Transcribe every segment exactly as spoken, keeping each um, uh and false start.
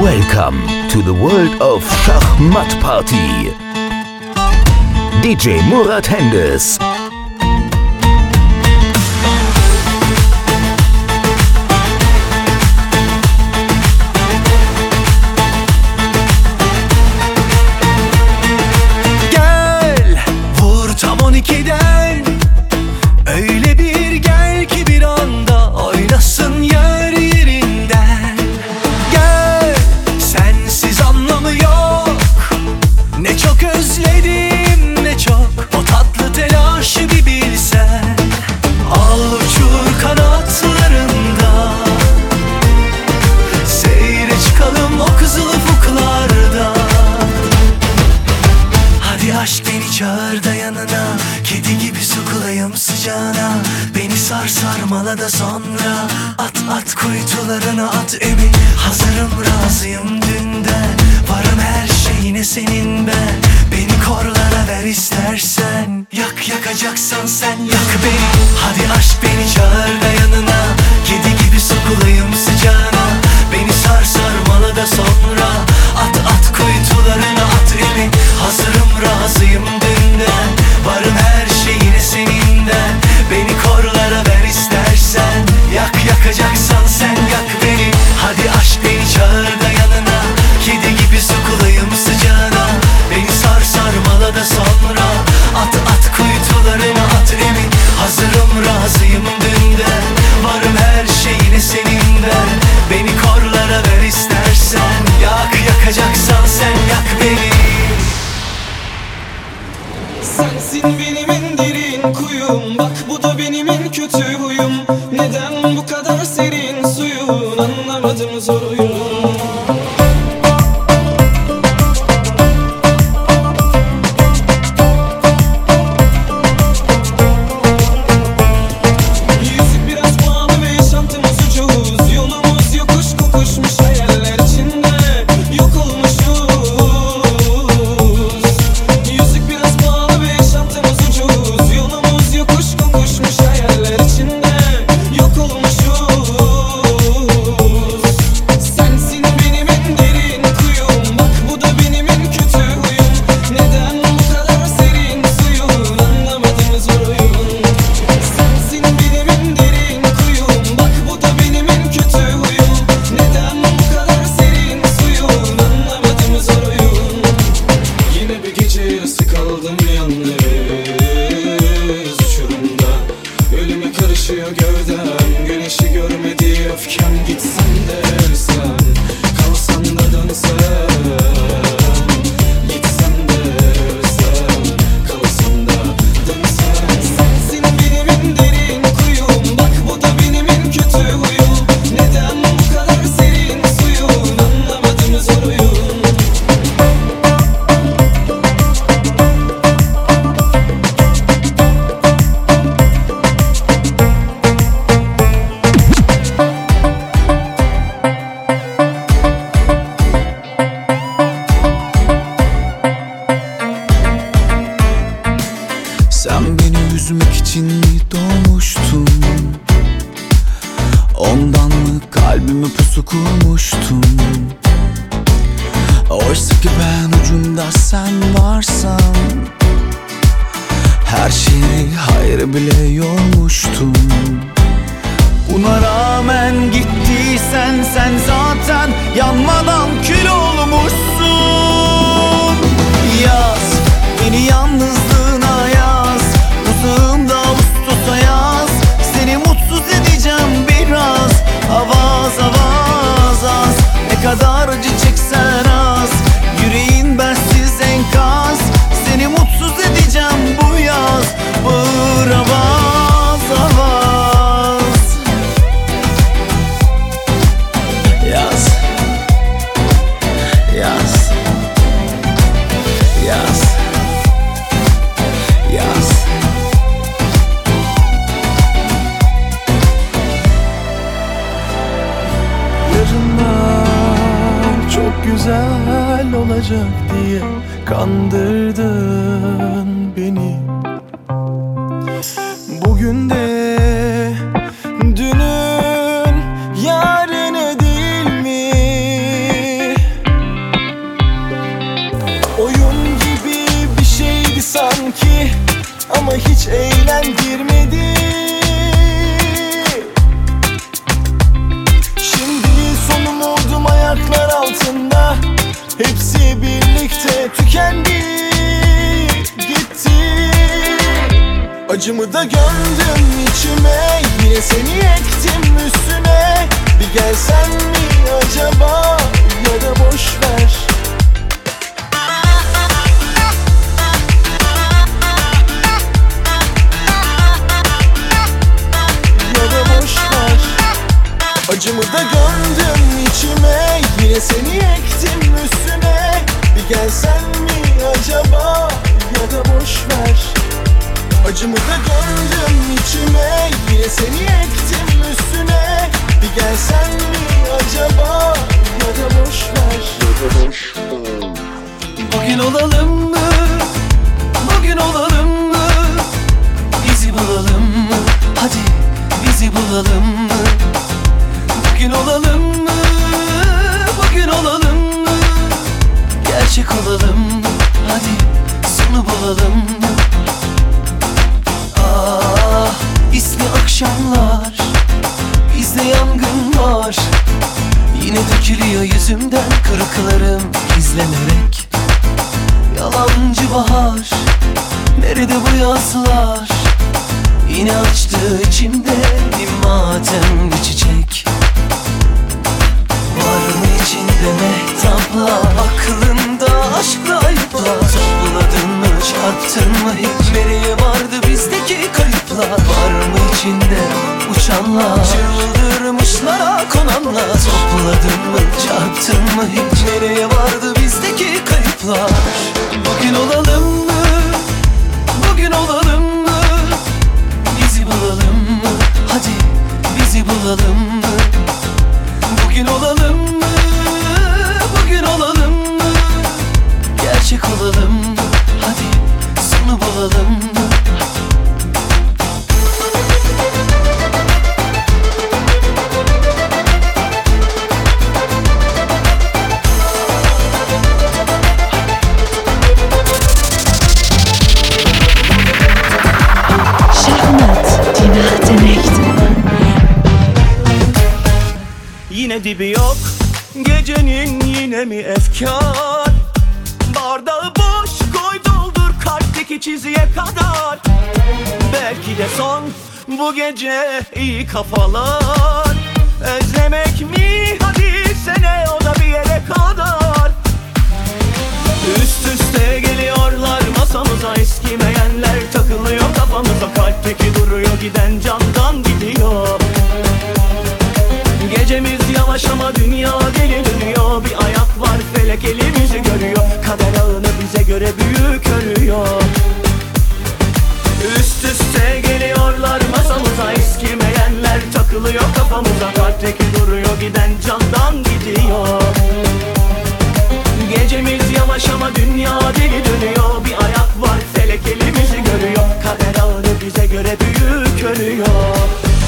Welcome to the world of Schachmatt Party. D J Murat Hendes. Gel, vur tam on ikiden. Öyle bir gel ki bir anda oynasın yer yerinden. Gel, sensiz anlamı yok. Ne çok özledim, ne çok o tatlı telaşı bir bilsen. Al uçur kanatlarında, seyre çıkalım o kızıl ufuklarda. Hadi aşk beni çağır da yanına, kedi gibi sokulayım sıcağına. Beni sar sarmala da sonra at at kuytularına at emi. Hazırım razıyım dünden, varım her şeyine senin ben. Beni korlara ver istersen, yak yakacaksan sen yak beni. Hadi aşk beni çağır da yanına, kedi gibi sokulayım sıcağına. Beni sar sarmala da sonra at at kuytularına at emi. Hazırım razıyım dünden, varım her şeyine seninden. Beni korlara ver istersen, yak yakacaksan sen yak beni. Hadi aşk beni çağır da yanına, kedi gibi sokulayım sıcağına. Beni sar sarmala da sonra at at kuytularına at emin. Hazırım razıyım dünden, varım her şeyine seninden. Beni korlara ver istersen, yak yakacaksan sen yak beni. Sensin benim en derin kuyum, bak bu da benim en kötü huyum. Neden bu kadar serin suyun, anlamadım zor oyun. Yüzük biraz pahalı ve yaşantımız ucuz. Yolumuz yokuş kokuşmuş hayaller içinde yok olmuşuz. Yüzük biraz pahalı ve yaşantımız ucuz. Yolumuz yokuş kokuşmuş hayaller içinde yok olmuşuz. Sensin benim en derin kuyum, bak bu da benim en kötü huyum. Neden bu kadar serin suyun, anlamadım zor oyun. Sensin benim en derin kuyum, bak bu da benim en kötü huyum. Neden bu kadar serin suyun, anlamadım zor oyun. Yine bir gece yarısı kaldım yalnız uçurumda. Ölüme karışıyor gövdem, güneşi görmedi öfkem. Gitsen de ölsem, kalsam da dönsem. Gitsem de ölsem, kalsam da dönsem. Sensin benim en derin kuyum, bak bu da benim en kötü huyum. Neden bu kadar serin suyun, anlamadım zor oyun. Sen beni üzmek için mi doğmuştun? Ondan mı kalbimi pusu kurmuştun? Oysa ki ben ucunda sen varsan, her şeyi hayır bile yormuştum. Buna rağmen gittiysen sen zaten yanmadan kül olmuşsun. Yaz, beni yalnızlığına yaz, uzağımda Ağustos'a yaz. Seni mutsuz edeceğim biraz, avaz avaz az. Ne kadar acı çeksen az, yüreğin bensiz enkaz. Seni mutsuz edeceğim bu yaz, bağır avaz avaz. Yaz, yaz, yaz, yaz. Yarınlar çok güzel olacak diye kandırdın beni. Bugün de dünün yarını değil mi? hepsi birlikte tükendi, gitti. Acımı da gömdüm içime, yine seni ektim üstüne. Bir gelsen mi acaba, ya da boşver. Ya da boşver. Acımı da gömdüm içime, yine seni ektim üstüne. Bir gelsen mi acaba, ya da boşver. Acımı da gömdüm içime, yine seni ektim üstüne. Bir gelsen mi acaba, ya da boşver. Ya da boşver. Bugün olalım mı? Bugün olalım mı? Bizi bulalım mı? Hadi bizi bulalım mı? Bugün olalım mı? Bugün olalım mı? Gerçek olalım mı? Hadi sonu bulalım mı? Ah, ismi akşamlar, bizde yangın var. Yine dökülüyor yüzümden kırıklarım izlenerek. Yalancı bahar, nerede bu yazlar? Yine açtı içimde bir matem, bir çiçek. Var mı içinde mehtaplar, aklında aşkla ayıplar? Topladın mı, çarptın mı hiç? Nereye vardı bizdeki kayıplar? Var mı içinde uçanlar, çıldırmışlara konanlar? Topladın mı, çarptın mı hiç? Nereye vardı bizdeki kayıplar? Bugün olalım mı? Bugün olalım mı? Bizi bulalım mı? Hadi bizi bulalım mı? Bugün olalım mı? Bugün olalım mı? Gerçek olalım mı? Hadi sonu bulalım mı? Yine dibi yok gecenin, yine mi efkar? Bardağı boş koy, doldur kalpteki çizgiye kadar. Belki de son bu gece, iyi kafalar. Özlemek mi? Hadi sene, o da bir yere kadar. Üst üste geliyorlar masamıza, eskimeyenler takılıyor kafamıza. Kalpteki duruyor, giden candan gidiyor. Gecemiz yavaş ama dünya deli dönüyor. Bir ayak var, felek elimizi görüyor. Kader ağını bize göre büyük örüyor. Üst üste geliyorlar masamıza, eskimeyenler takılıyor kafamıza. Kalpteki duruyor, giden candan gidiyor. Gecemiz yavaş ama dünya deli dönüyor. Bir ayak var, felek elimizi görüyor. Kader ağını bize göre büyük örüyor.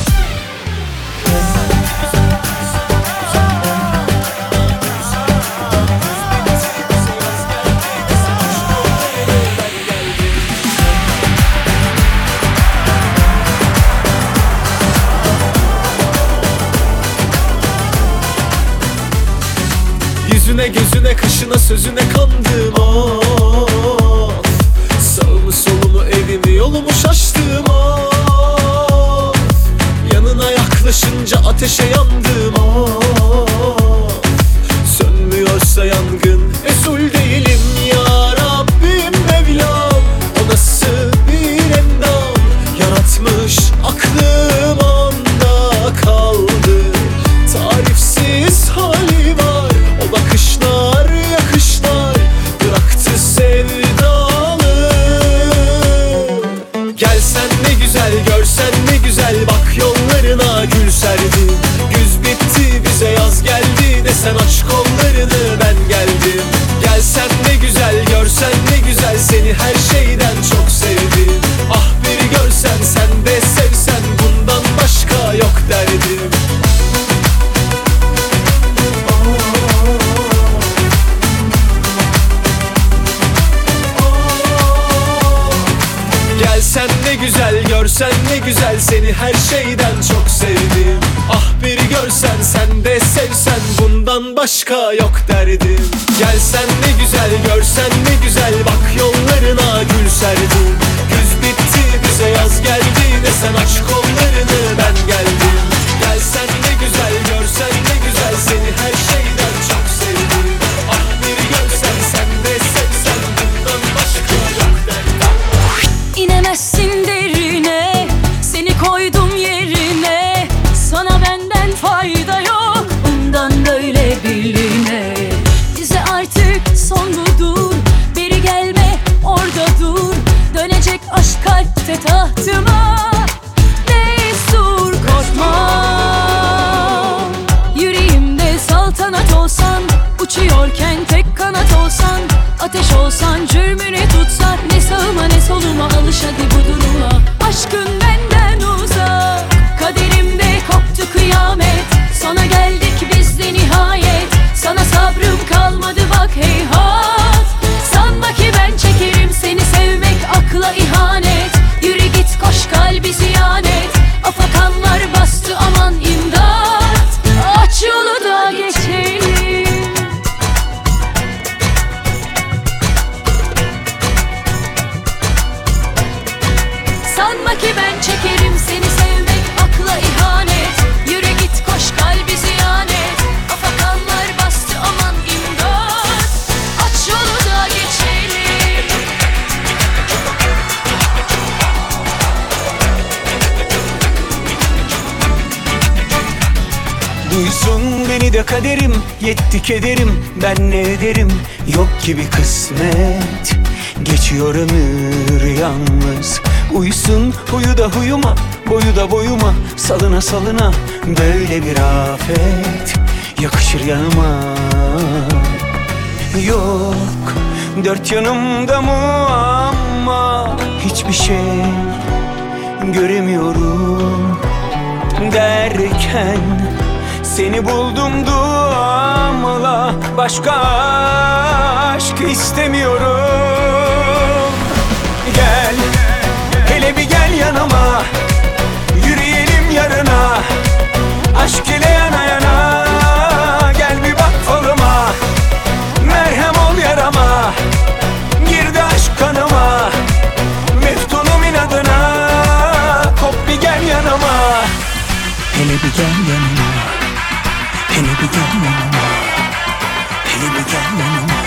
Yüzüne gözüne kaşına sözüne kandım of. Sağımı solumu evimi yolumu şaştım of. Yanına yaklaşınca ateşe yandım of. Sönmüyorsa yangın mesul değilim ya Rabbim Mevlam. O nasıl bir endam yaratmış, aklım onda kaldı. Tarifsiz hali var, o bakışlar yakışlar bıraktı sevdalı. Gelsen ne güzel, görsen ne güzel, bak yollarına gül serdim. Güz bitti bize yaz geldi, desen aç kollarını ben geldim. Gelsen ne güzel, görsen ne güzel, seni her şeyden çok sevdim. Ah bir görsen, sen de sevsen, bundan başka yok derdim. Gelsen ne güzel, görsen ne güzel, seni her şeyden çok sevdim. Ah bir görsen, sen de sevsen, bundan başka yok derdim. Gelsen ne güzel, görsen ne güzel, bak yollarına gül serdim. Güz bitti bize yaz geldi, desen aç kollarını ben geldim. Gelsen ne güzel, görsen ne güzel, seni her şeyden çok sevdim. Ah bir görsen, sen de sevsen, bundan başka yok derdim. İnemezsin derine, seni koydum yerine. Sana benden fayda yok, bundan böyle birliğine. Bize artık son budur, beri gelme orada dur. Dönecek aşk kalpte tahtıma, destur korkma. Yüreğimde saltanat olsan, uçuyorken tek kanat olsan, ateş olsan cürmünü tutsak, ne sağıma ne soluma alış hadi bu duruma. Aşkın benden uzak, kaderimde koptu kıyamet. Sana geldik biz de nihayet, sana sabrım kalmadı bak heyhat. Sanma ki ben çekerim seni, sevmek akla ihanet. Yürü git koş kalbi ziyanet, afakanlar bastı aman imdat. Aç yolu da geçelim. Sanma ki ben çekerim seni, sevmek akla ihanet. Yürü git koş kalbi ziyanet, afakanlar bastı aman imdat. Aç yolu da geçelim. Duysun beni de kaderim, yetti kederim, ben ne ederim? Yok gibi kısmet, geçiyor ömür yalnız. Uysun huyu da huyuma, boyu da boyuma, salına salına böyle bir afet yakışır yanıma. Yok dört yanımda muamma, hiçbir şey göremiyorum derken seni buldum duamla, başka aşk istemiyorum. Gel, hele bir gel yanıma, yürüyelim yarına, aşk ile yana yana. Gel bir bak falıma, merhem ol yarama, girdi aşk kanıma, meftunum inadına. Kop bir gel yanıma, hele bir gel yanıma, hele bir gel yanıma, hele bir gel yanıma.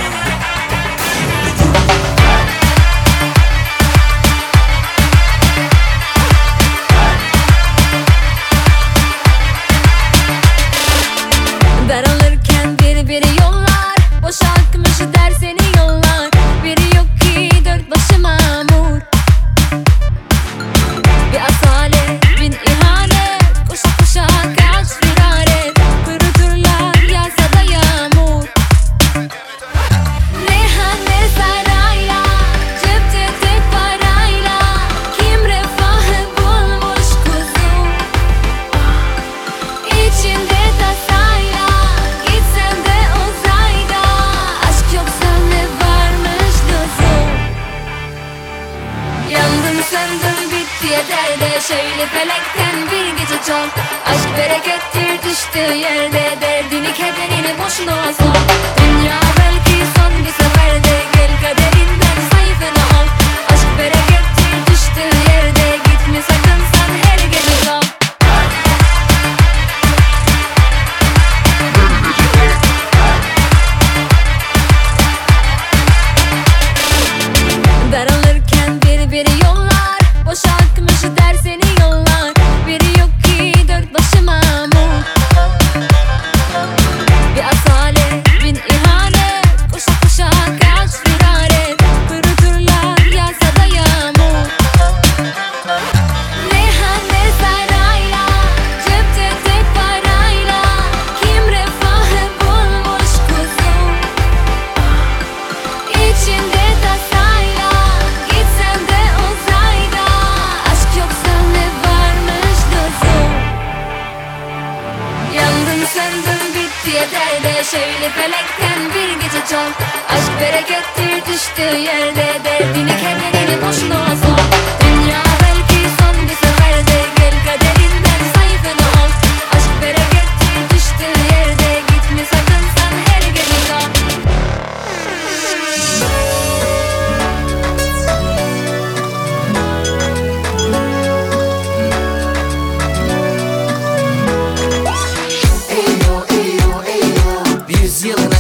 Daralırken biri biri yollar, boşaltmış der seni yollar. Biri yok ki dört başı mamur, bir asalet bin ihanet. Koşa koşa kaç firaret, kuruturlar yağsa da yağmur. Ne han ne sarayla, cepte tek parayla, kim refahı bulmuş kuzum. İçinde tasayla, gitsen de uzayda, aşk yoksa ne varmış lüzum. Yandım söndüm bitti yeter de, şöyle felekten bir gece çok. Aşk berekettir düştüğü yerde, derdini kederini boşuna sor. Dünya belki son bir seferde, gel kaderinden sayfını al. Aşk berekettir düştüğü yerde, gitme sakın sen her gece kal. Daralırken biri biri yollar, boşaltmış der seni yollar. Biri yok ki dört başı mamur, bir asalet bin ihanet. Koşa koşa kaç firaret, kuruturlar yağsa da yağmur. Ne han ne sarayla, cepte tek parayla, kim refahı bulmuş kuzum. İçinde tasayla, gitsen de uzayda, aşk yoksa ne varmış lüzum. Yandım söndüm bitti yeter de, şöyle felekten bir gece çok. Aşk berekettir düştüğü yerde, derdini kederini boşuna sor. Dünya belki son bir seferde, gel kaderinden sayfını al. Aşk berekettir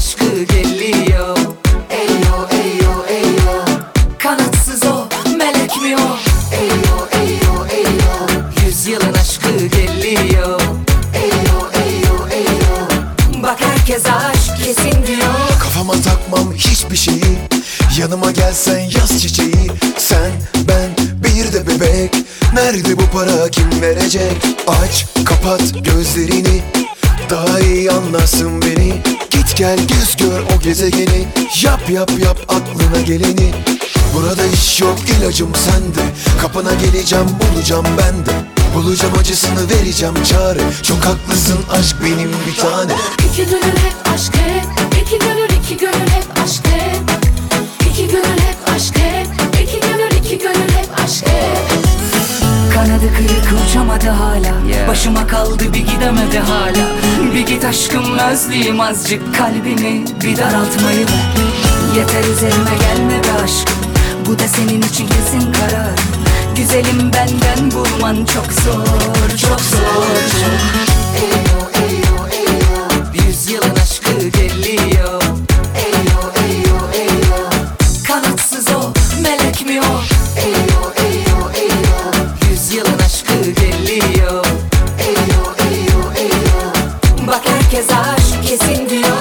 aşkı geliyor. Eyo eyo eyo, kanatsız o, melek mi o? Eyo eyo eyo, yüzyılın aşkı geliyor. Eyo eyo eyo, bak herkes aşk kesin diyor. Kafama takmam hiçbir şeyi, yanıma gelsen yaz çiçeği. Sen, ben, bir de bebek, nerede bu para kim verecek? Aç, kapat gözlerini, daha iyi anlarsın beni. Git gel göz gör o gezegeni, yap yap yap aklına geleni. Burada iş yok ilacım sende, kapına geleceğim bulacağım ben de. Bulacağım acısını vereceğim çare, çok haklısın aşk benim bir tane. İki gönül hep aşk hep, iki gönül iki gönül hep aşk hep. İki gönül hep aşk hep, iki gönül iki gönül hep aşk hep. Kanadı kırık uçamadı hala, yeah. Başıma kaldı bir gidemedi hala. Bir git aşkım özleyeyim azıcık, kalbini bir daraltmayı ver. Yeter üzerime gelme be aşkım, bu da senin için kesin karar. Güzelim benden bulman çok zor, çok zor çok. Eyo eyo eyo, yüzyılın aşkı geliyor. Eyo eyo eyo, kanatsız o, melek mi o? Eyo eyo eyo, yüzyılın aşkı geliyor. Eyo eyo eyo, bak herkes aşk kesin diyor.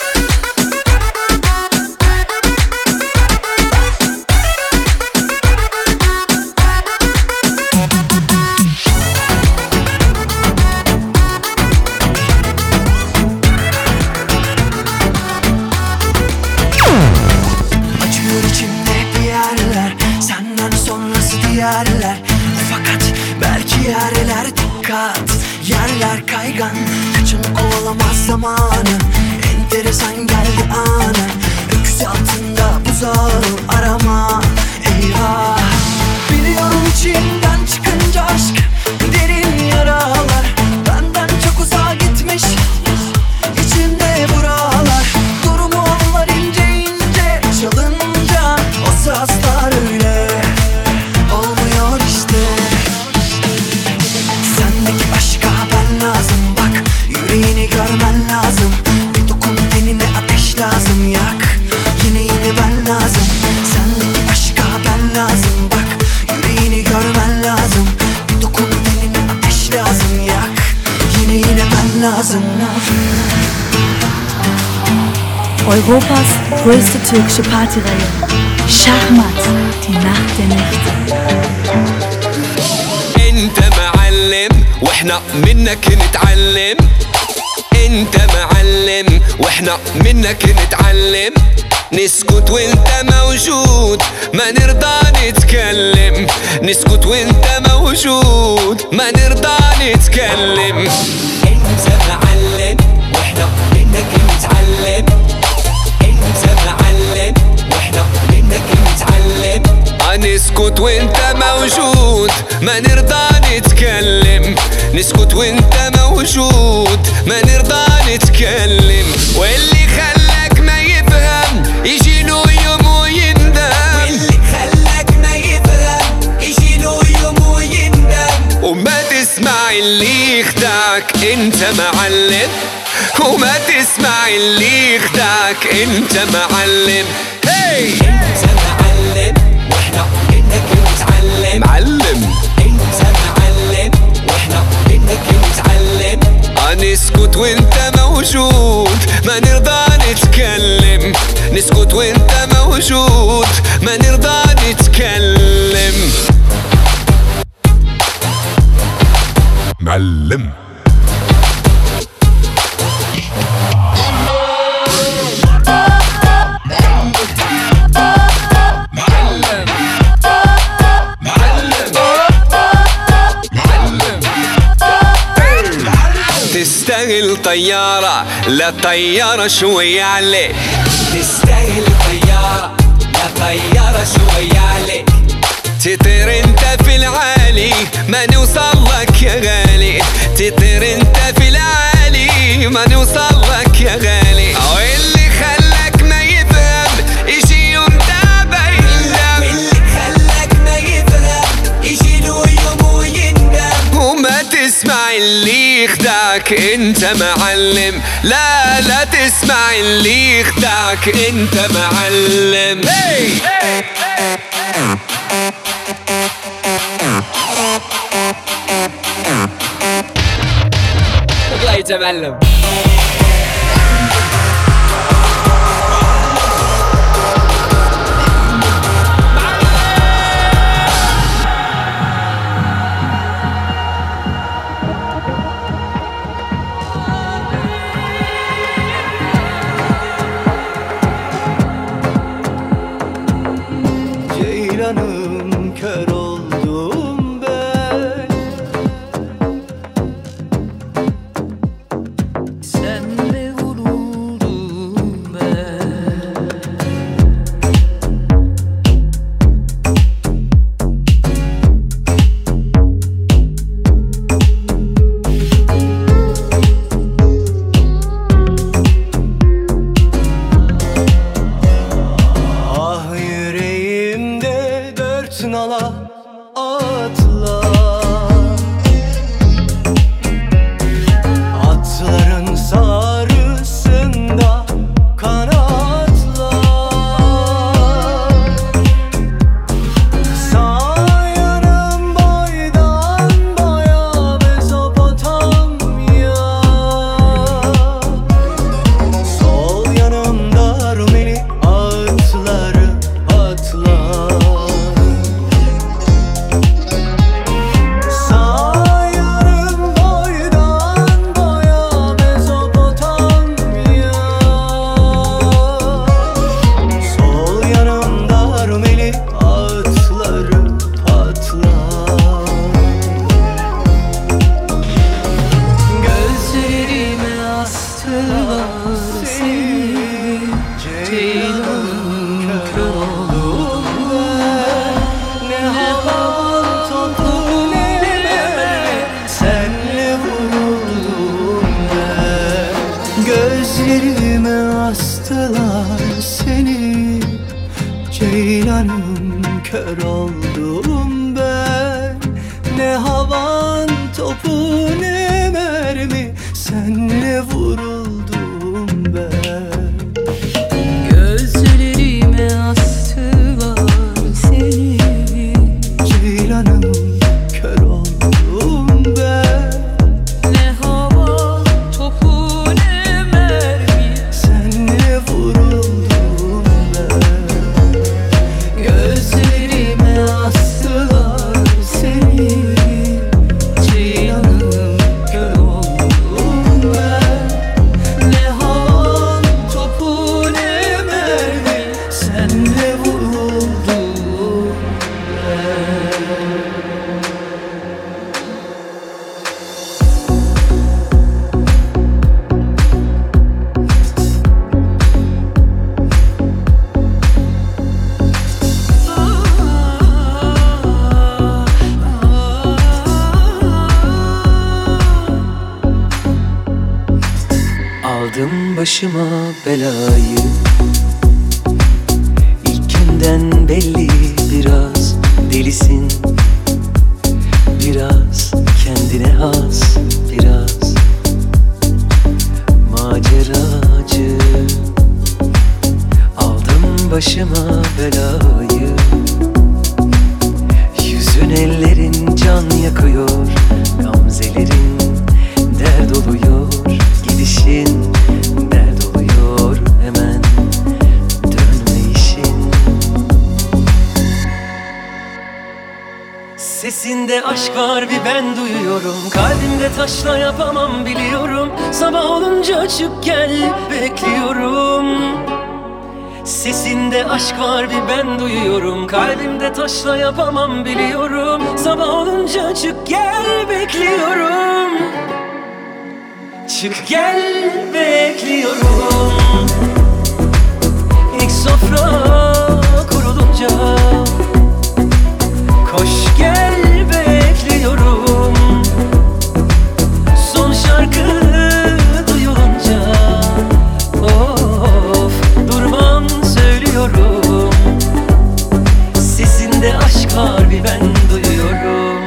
Acıyor içimde bir yerler, senden sonrası diğerler. Fakat belki yerler dikkat, yerler kaygan. Kaçın kovalamaz zamanı, enteresan geldi anı. Öküz altında buzağı arama, eyvah. Biliyorum içimden çıkınca aşk derin yaralar. Benden çok uzağa gitmiş içimde buralar. Durumu anlar ince ince çalınca, o sazlar öyle olmuyor işte. Sendeki aşka ben lazım, bak yüreğini görmen lazım. Bir dokun tenine ateş lazım, yak yine yine ben lazım. Sendeki aşka ben lazım, bak yüreğini görmen lazım. Bir dokun tenine ateş lazım, yak yine yine ben lazım. Europas größte türkische Partyreihe. Schachmatt, die Nacht der Nächte. انت معلم واحنا منك نتعلم. انت معلم واحنا منك نتعلم. نسكت وانت موجود ما نرضى نتكلم. نسكت وانت موجود ما نرضى نتكلم. انت معلم واحنا منك نتعلم. انت معلم واحنا منك نتعلم. نسكت وانت موجود ما نرضى نتكلم. نسكت وانت موجود ما نرضى نتكلم. واللي خلاك ما يفهم يجي له يوم ويندم. واللي خلاك ما يفهم يجي له يوم ويندم. وما تسمع اللي يخدعك انت معلم. وما تسمع اللي يخدعك انت معلم. هي انت معلم واحنا منك نتعلم. معلم انت معلم واحنا منك نتعلم. نسكت وانت موجود ما نرضى نتكلم. نسكت وانت موجود ما نرضى نتكلم. معلم تستاهل طيارة لا طيارة شوية عليك. تستاهل طيارة لا طيارة شوية عليك. تطير انت في العالي ما نوصل لك يا غالي. تطير انت في العالي ما نوصل لك يا غالي. واللي خلاك ما يفهم يجي يوم تعبى يندم. واللي خلاك ما يفهم يجي له يوم ويندم. وما تسمع اللي يخدعك انت معلم. لا لا تسمع اسمع اللي يخدعك انت معلم. hey! الله يتمعلم. Ceylanım kör oldum ben, senle vuruldum ben. ah yüreğimde dört nala atlar, atların sarısında kanatlar. Sağ yanım boydan boya Mezopotamya, sol yanımda Rumeli atları patlar. Sağ yanım boydan boya Mezopotamya, sol yanımda Rumeli atları patlar. Gözlerime astılar seni, Ceylanım kör oldum ben. Ne havan topu ne senle vuruldum ben. Gözlerime astılar seni, Ceylanım kör oldum ben. Ne havan topu ne mermi, senle vuruldum ben. Gözlerime astılar seni, Ceylanım kör oldum ben. ne hava topu ne mermi, Senle vuruldum ben. gözlerime astılar seni, Ceylanım kör oldum ben. Ne hava topu ne mermi, Senle vuruldum. Aldım başıma belayı, İlkinden belli biraz delisin, biraz kendine has, biraz maceracı. Aldım başıma belayı, yüzün ellerin can yakıyor, gamzelerin dert oluyor, gidişin dert oluyor, hemen dönme işin. Sesinde aşk var bir ben duyuyorum, kalbimde taşla yapamam biliyorum. Sabah olunca çık gel bekliyorum. Sesinde aşk var bir ben duyuyorum, kalbimde taşla yapamam biliyorum. Sabah olunca çık gel bekliyorum. Çık gel bekliyorum. İlk sofra kurulunca koş gel bekliyorum. Son şarkı duyulunca of durmam söylüyorum. Sesinde aşk var bir ben duyuyorum.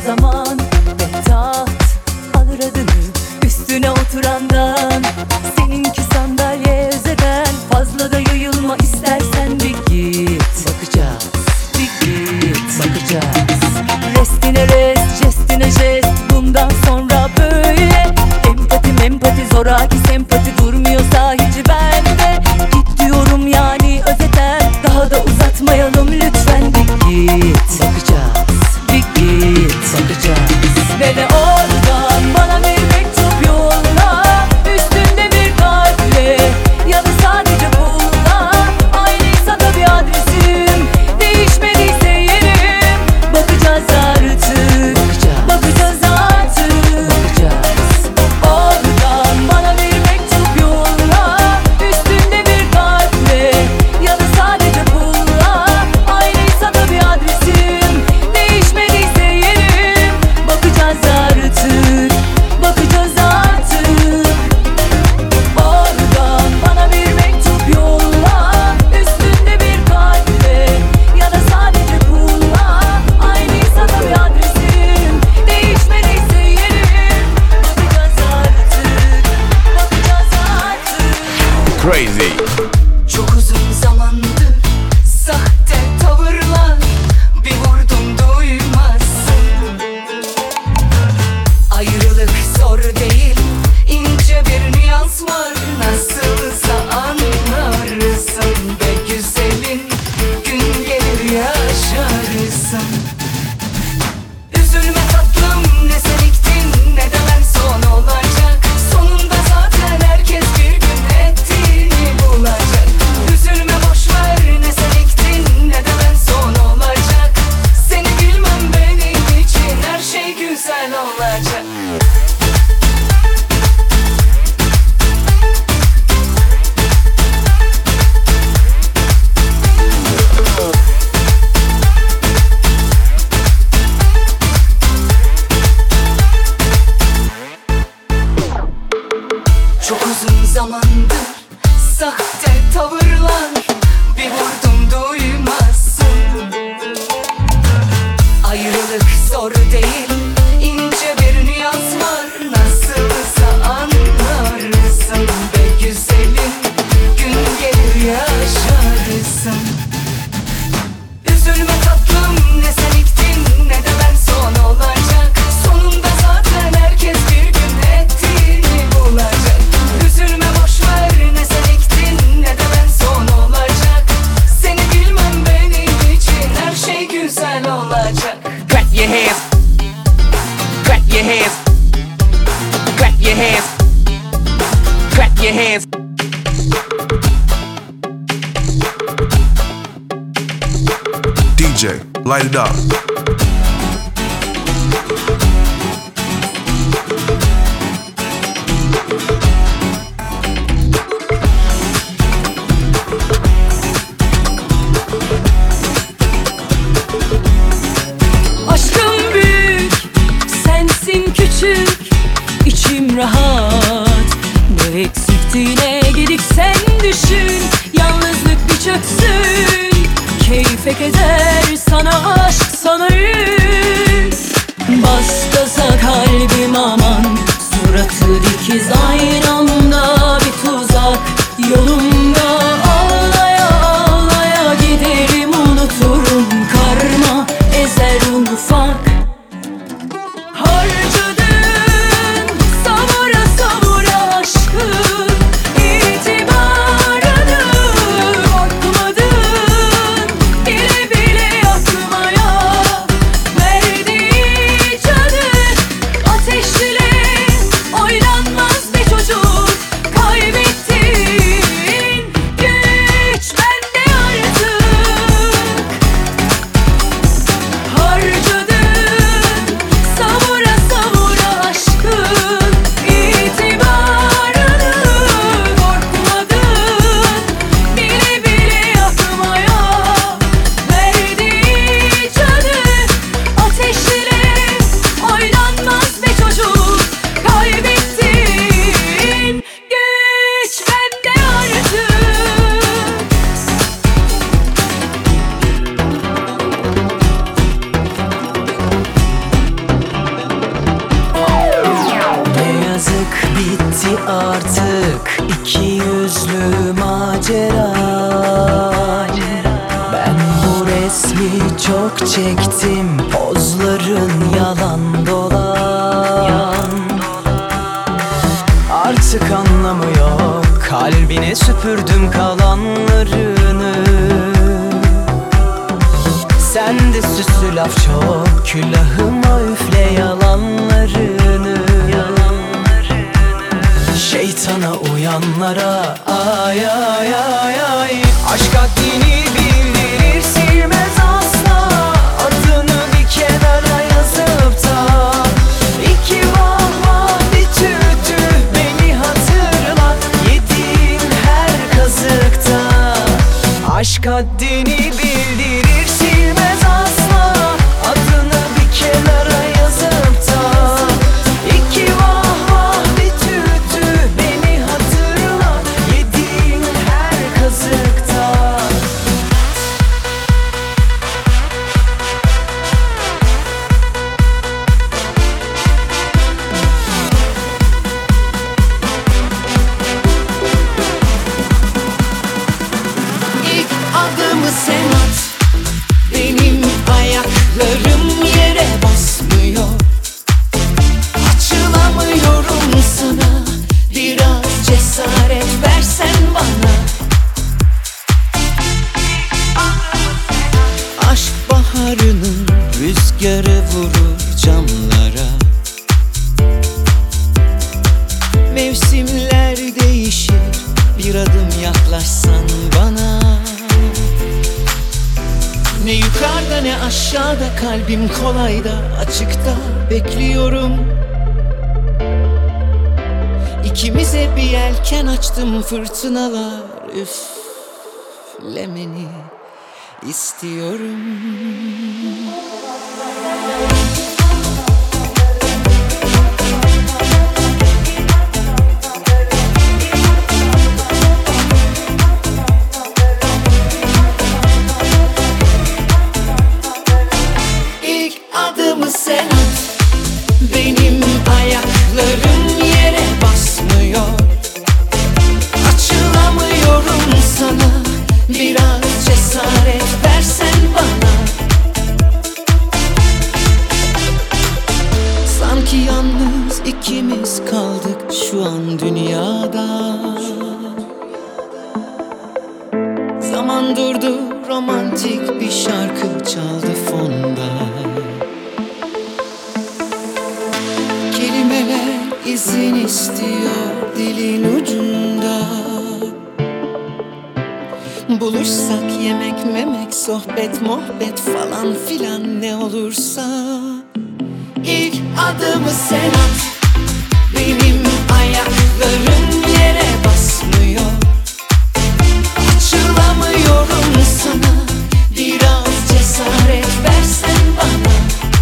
zaman ve taht alır adını üstüne oturandan. Seninki sandalye özeden, fazla da yayılma istersen bir git. Bakacağız, bir git, bakacağız. Restine rest, jestine jest, bundan sonra böyle. Empati mempati zoraki sempati durmuyorsa hiç bende. Git diyorum yani özeten, daha da uzatmayalım lütfen. Bir git, bakacağız, bir git, bakacağız. Ve de oradan bana bir mektup yolla, üstünde bir kalple ya da sadece pulla. Aynıysa da bir adresim, değişmediyse yerim. Bakacağız artık, bakacağız, bakacağız artık, bakacağız. Oradan bana bir mektup yolla, üstünde bir kalple ya da sadece pulla. Aynıysa da bir adresim, değişmediyse yerim. Bakacağız artık, bakacağız artık. Oradan bana bir mektup yolla, üstünde bir kalple ya da sadece pulla. Aynıysa da bir adresim, değişmediyse yerim. Bakacağız artık, bakacağız artık. Crazy. Çok uzun zamandır sahte tavırlar, bir vurdum duymazsın. Ayrılık zor değil, ince bir nüans var. Nasılsa anlarsın be güzelim, gün gelir yaşarsın. Üzülme tatlım, ne sen ektin ne de ben son olacak. Sonunda zaten herkes bir gün ettiğini bulacak. Üzülme boşver, ne sen ektin ne de ben son olacak. Seni bilmem benim için her şey güzel olacak. Çok uzun zamandır sahte tavırlar, bir vurdum duymazsın. Ayrılık zor değil, ince bir nüans var. Nasılsa anlarsın be güzelim, gün gelir yaşarsın. Üzülme tatlım, ne sen ektin ne de ben son olacak. Sonunda zaten herkes bir gün ettiğini bulacak. Üzülme boşver, ne sen ektin ne de ben son olacak. Seni bilmem benim için her şey güzel olacak. Clap your hands. Clap your hands. Clap your hands. Clap your hands. D J, light it up. Aşkım büyük, sensin küçük, içim rahat. Ne eksikti ne gedik sen düşün. Yalnızlık bir çöksün, keyfe keder sana aşk sana yük. Bas gaza kalbim aman, suratı dikiz aynı anda bir tuzak. Yolumda ağlaya ağlaya giderim, unuturum karma ezer un ufak. Harcadın savura savura aşkı, itibarını korkmadın bile bile yakmaya. Verdiği canı artık iki yüzlü macera. Ben bu resmi çok çektim, pozların yalan dolan. Artık anlamı yok, kalbine süpürdüm kalanlarını. Sende süslü laf çok, külahıma üfle yalanlarını. Şeytana uyanlara ay ay ay ay. Aşk haddini bildirir, silmez asla. Adını bir kenara yazıp da iki vah vah bir tüh tüh beni hatırlat yediğin her kazıkta. Aşk haddini bildirir, silmez asla. Adını bir kenara yazıp da iki vah vah bir tüh tüh beni hatırlat yediğin her kazıkta. İlk adımı sen at, benim ayaklarım yere basmıyor. Açılamıyorum sana, biraz cesaret versen bana. Aşk baharının rüzgarı vurur camlara. Mevsimler değişir, bir adım yaklaşsan bana. Ne yukarıda ne aşağıda, kalbim kolayda, açıkta bekliyorum. İkimize bir yelken açtım, fırtınalar üflemeni istiyorum. İlk adımı sen at, benim ayaklarım yere basmıyor. Açılamıyorum sana, biraz cesaret versen bana. Sanki yalnız ikimiz kaldık şu an dünyada. Zaman durdu, romantik bir şarkı çaldı fonda. Kelimeler izin istiyor dilin ucunda. Buluşsak yemek memek, sohbet muhabbet falan filan ne olursa. İlk adımı sen at, benim ayaklarım yere basmıyor. Açılamıyorum sana, biraz cesaret versen bana.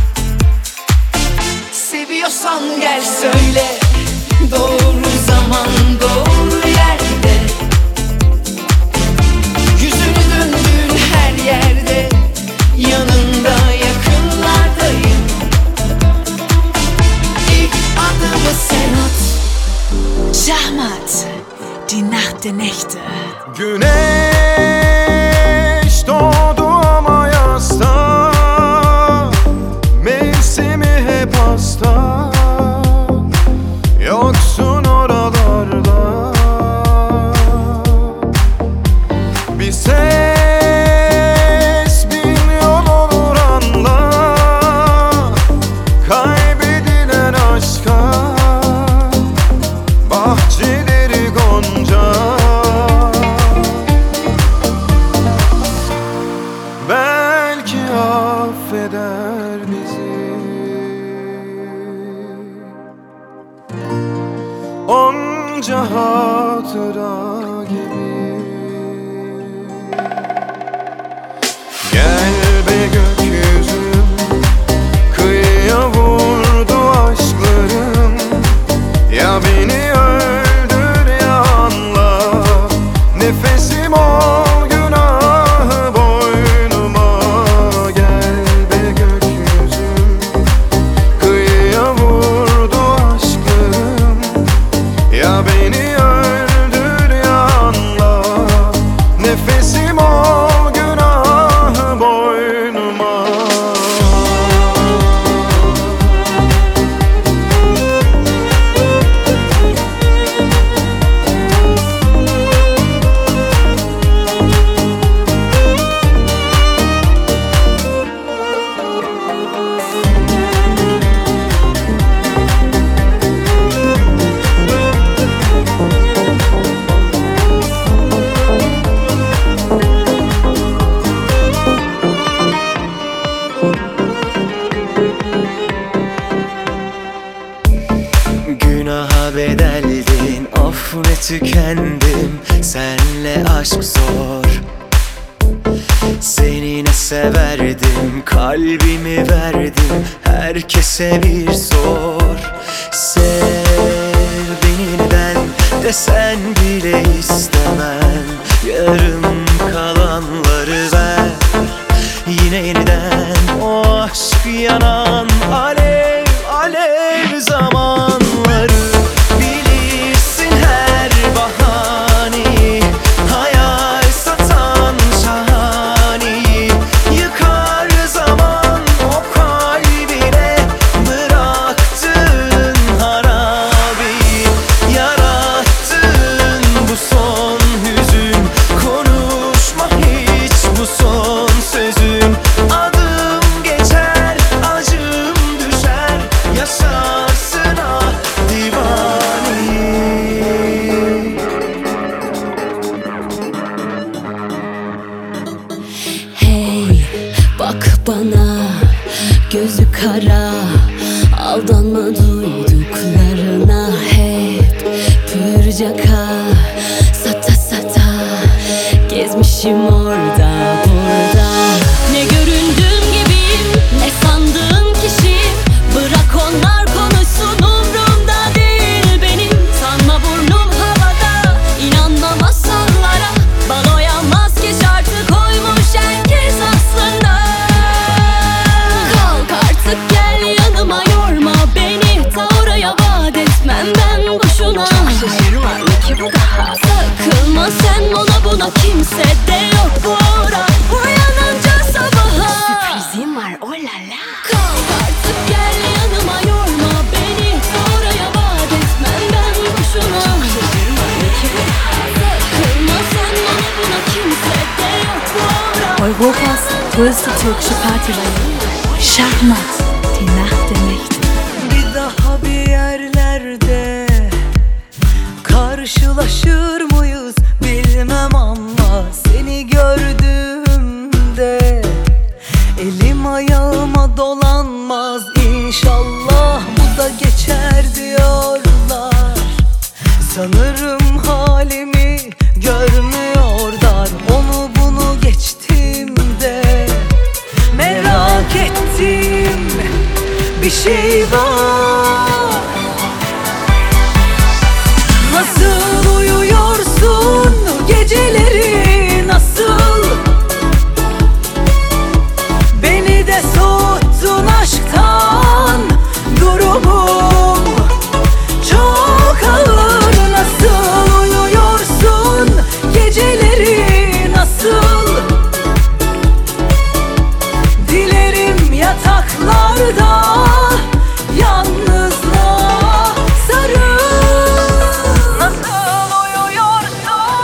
Seviyorsan gel söyle, doğru zaman doğru yerde. Yüzünü döndüğün her yerde, yanında yakınlardayım. İlk adımı sen at. Schachmatt, die Nacht der Nächte. Güneş doğdu ama yasta, mevsimi hep hasta. Yoksun oralarda, bir ses bin yol olur anla. Kaybedilen aşka bahçeleri gonca. Belki affeder bizi. Onca hatıra gibi. Gel be gökyüzüm, kıyıya vurdu aşklarım. Ya beni öldür ya anla, nefesim ol günahı boynuma. Gel be gökyüzüm, kıyıya vurdu aşklarım. Ya ve tükendim. Senle aşk zor. Seni ne severdim, kalbimi verdim. Herkese bir sor. Sev beni neden desen bile istemem. Yarım kalanları ver. Yine yeniden o aşk yanan alev alev zamanları. Bilirsin her bahaneyi, hayal satan şahaneyi. Yıkar zaman o kalbine bıraktığın harabeyi. Yarattığın bu son hüzün, konuşma hiç bu son sözün. Adım geçer, acım düşer, yaşarsın ah divani. Hey bak bana, gözü kara, aldanma duyduklarına. Hep pürcaka, sata sata gezmişim orada burada. Ne göründüğüm gibiyim, ne sandığın kişiyim. Bırak onlar konuşsun, umrumda değil benim. Sanma burnum havada, inanma masallara. Baloya maske şartı koymuş herkes aslında. Kalk artık gel yanıma, yorma beni. Ta oraya vaat etmem ben boşuna. Çok sözüm var mı ki bu daha? Takılma sen ona buna, kimse de yok bura. Uyanınca sabaha Sürprizim var oh la la. kalk artık gel yanıma, yorma beni. Ta oraya vaat etmem ben boşuna. Çok sözüm var mı ki bu daha? Takılma sen ona buna, kimse de yok bura. Europas größte türkische Partyreihe. Schachmatt, die Nacht der Nächte. Bir daha bir yerlerde karşılaşır mıyız bilmem ama seni gördüğümde elim ayağıma dolanmaz. İnşallah bu da geçer diyorlar. Sanırım halimi görmüyorlar. Onu bunu geçtiğimde merak ettiğim bir şey var. Nasıl uyuyorsun geceleri, nasıl? Beni de soğuttun aşktan, durumum çok ağır. Nasıl uyuyorsun geceleri, nasıl? Dilerim yataklarda yalnızlığa sarıl. Nasıl uyuyorsun?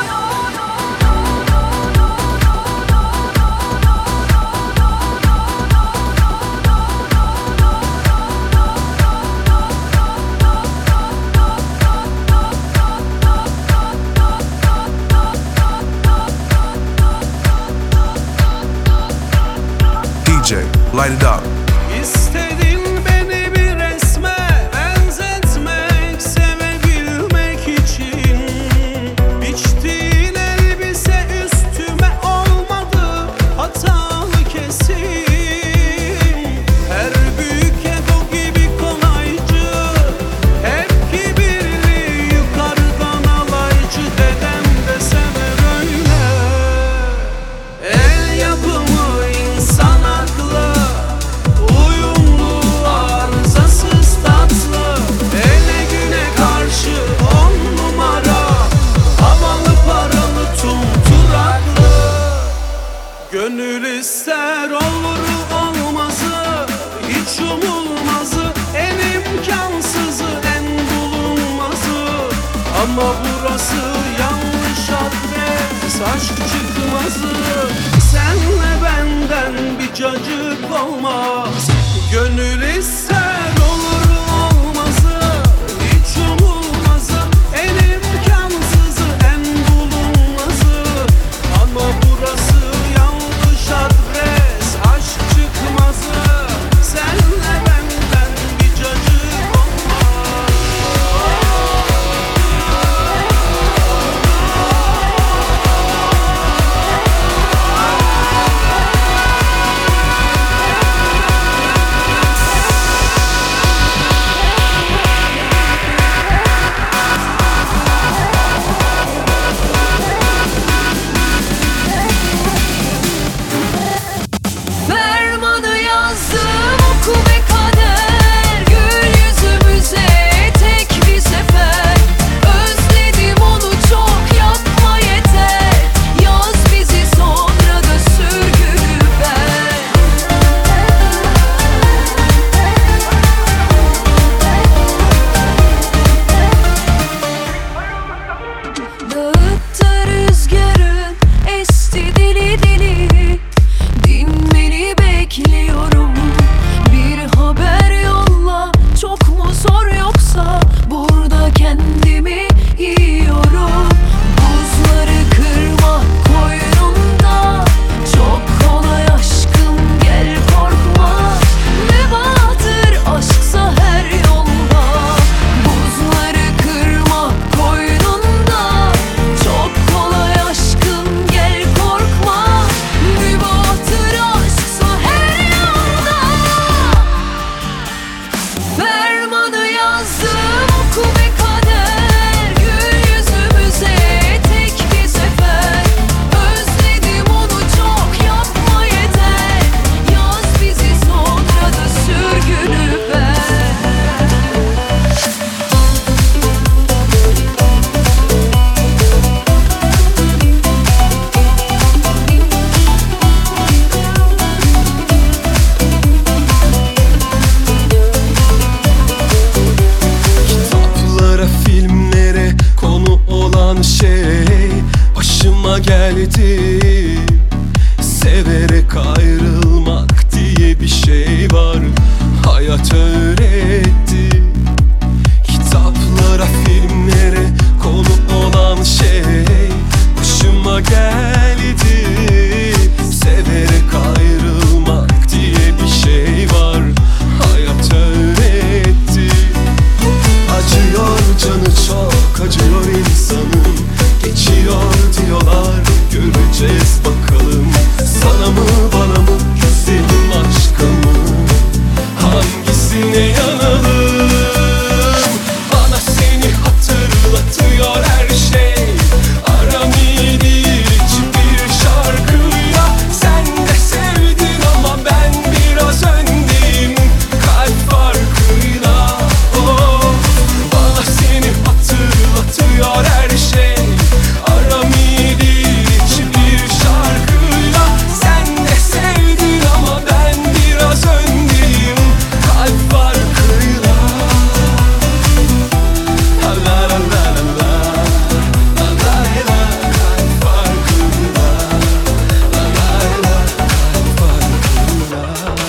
D J, light it up. İstedin beni bir resme benzetmek, sevebilmek için. Biçtiğin elbise üstüme olmadı, hatalı kesin. Her büyük ego gibi kolaycı, hep kibirli, yukarıdan alaycı. Dedem de sever öyle. El yapımı insan aklı, uyumlu, arızasız, tatlı. Ele güne karşı on numara, havalı, paralı, tumturaklı. Gönül ister olur olmazı, hiç umulmazı, en imkansızı, en bulunmazı. Ama burası yanlış adres, aşk çıkmazı. Senle benden bir cacık olmaz. Gönül ister olur olmazı, hiç umulmazı, en imkansızı, en bulunmazı. Ama burası yanlış adres, aşk çıkmazı. Senle benden bir cacık olmaz. geldi. Severek ayrılmak diye bir şey var, hayat öğretti. Kitaplara, filmlere konu olan şey başıma geldi. Severek ayrılmak diye bir şey var, hayat öğretti. Acıyor canı çok, acıyor insanın. Geçiyor diyorlar, göreceğiz bakalım. Sana mı bana mı, güzelim aşka mı, hangisine yanalım? Bana seni hatırlatıyor her şey. Aram iyi değil hiçbir şarkıyla. Sen de sevdin ama ben biraz öndeyim, kalp farkıyla. Oh, bana seni hatırlatıyor her şey. Aram iyi değil hiçbir şarkıyla. Sen de sevdin ama ben biraz öndeyim, kalp farkıyla. La la la la la, la la la, kalp farkıyla. La la la, kalp farkıyla.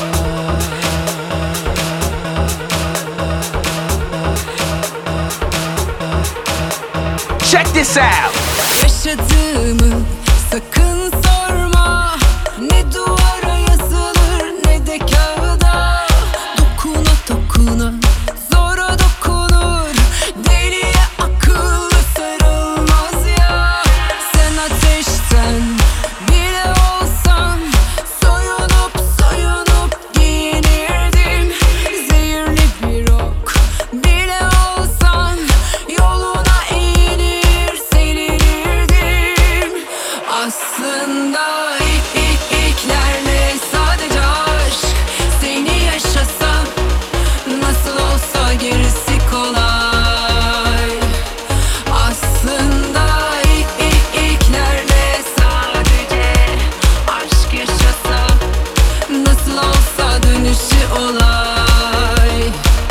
Check this out. Yaşadığımı sakın sorma. Ne duvara yazılır ne de kağıda. Dokuna dokuna zora dokunur. Deliye akıllı sarılmaz ya. Sen ateşten bile olsan soyunup soyunup giyinirdim. Zehirli bir ok bile olsan yoluna eğilir serilirdim. Aslında ilk ilk ilklerle sadece aşk. Seni yaşasam nasıl olsa gerisi kolay. Aslında ilk ilk ilklerle sadece aşk yaşasam nasıl olsa dönüşü olay.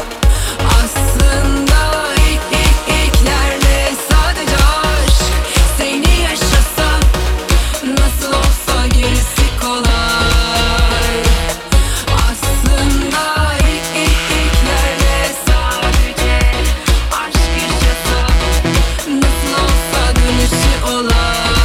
Aslında ilk ilk ilklerle sadece aşk. Seni yaşasam nasıl olsa gerisi kolay. Aslında ilk ilk ilklerle sadece aşk yaşasam nasıl olsa dönüşü olay.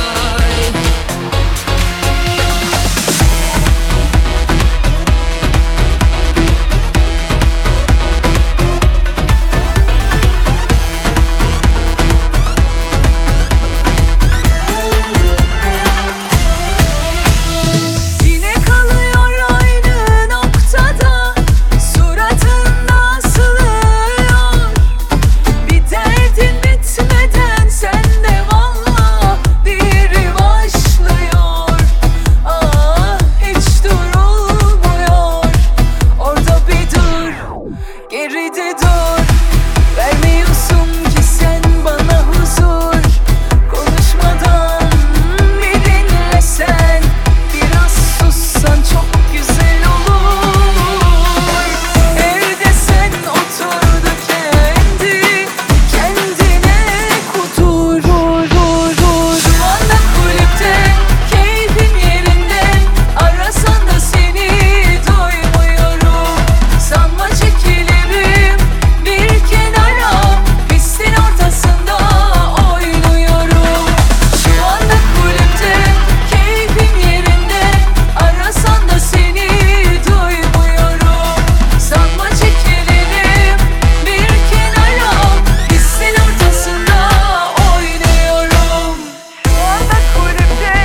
Yine kalıyor aynı noktada, suratında asılıyor. Bir derdin bitmeden sende valla biri başlıyor. Ah, hiç durulmuyor. Orada bir dur, geride dur. Vermiyorsun ki sen bana huzur. Konuşmadan bir dinlesen, biraz sussan çok güzel olur. Evde sen otur da kendi kendine kudur. Şu anda kulüpte keyfin yerinde, arasan da seni duymuyorum. Sanma çekilirim bir kenara, pistin ortasında oynuyorum. Şu anda kulüpte keyfim yerinde, arasan da seni duymuyorum. Sanma çekilirim bir kenara, pistin ortasında oynuyorum. Şu anda kulüpte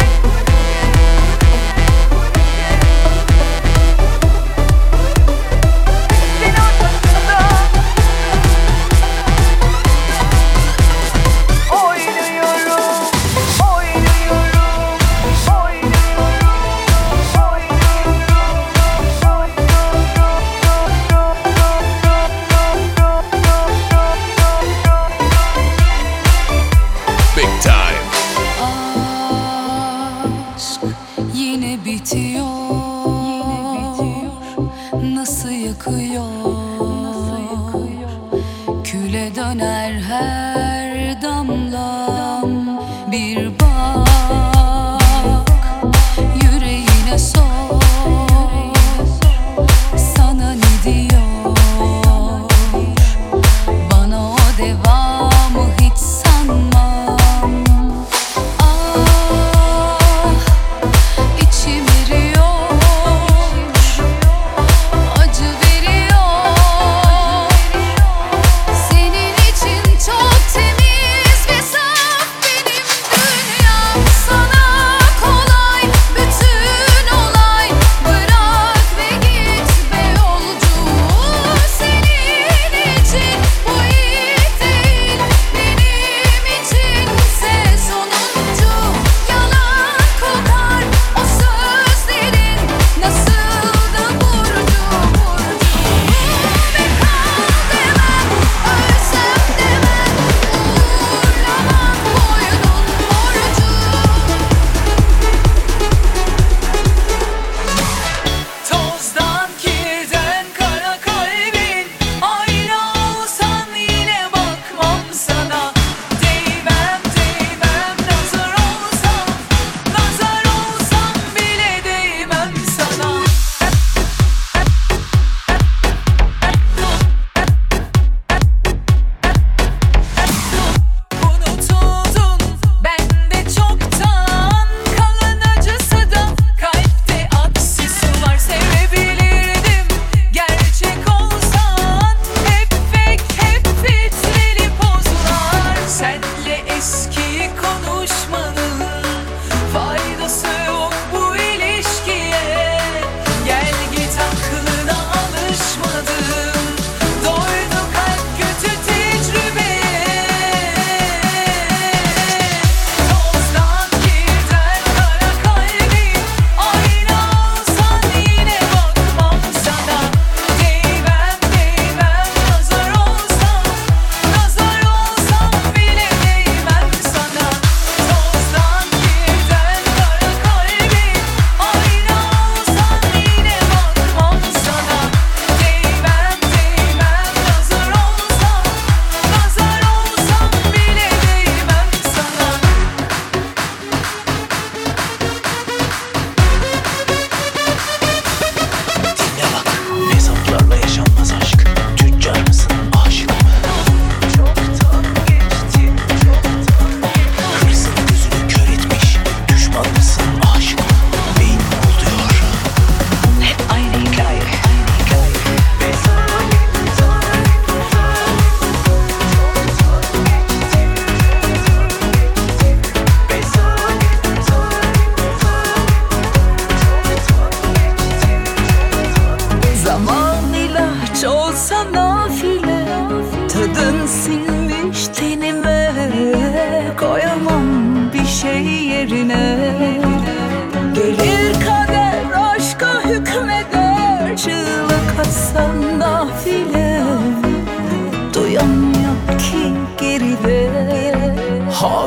pistin ortasında oynuyorum. Oynuyorum, Big time. Aşk yine bitiyor. Nasıl yakıyor? Küle döner her damlam bir bahar.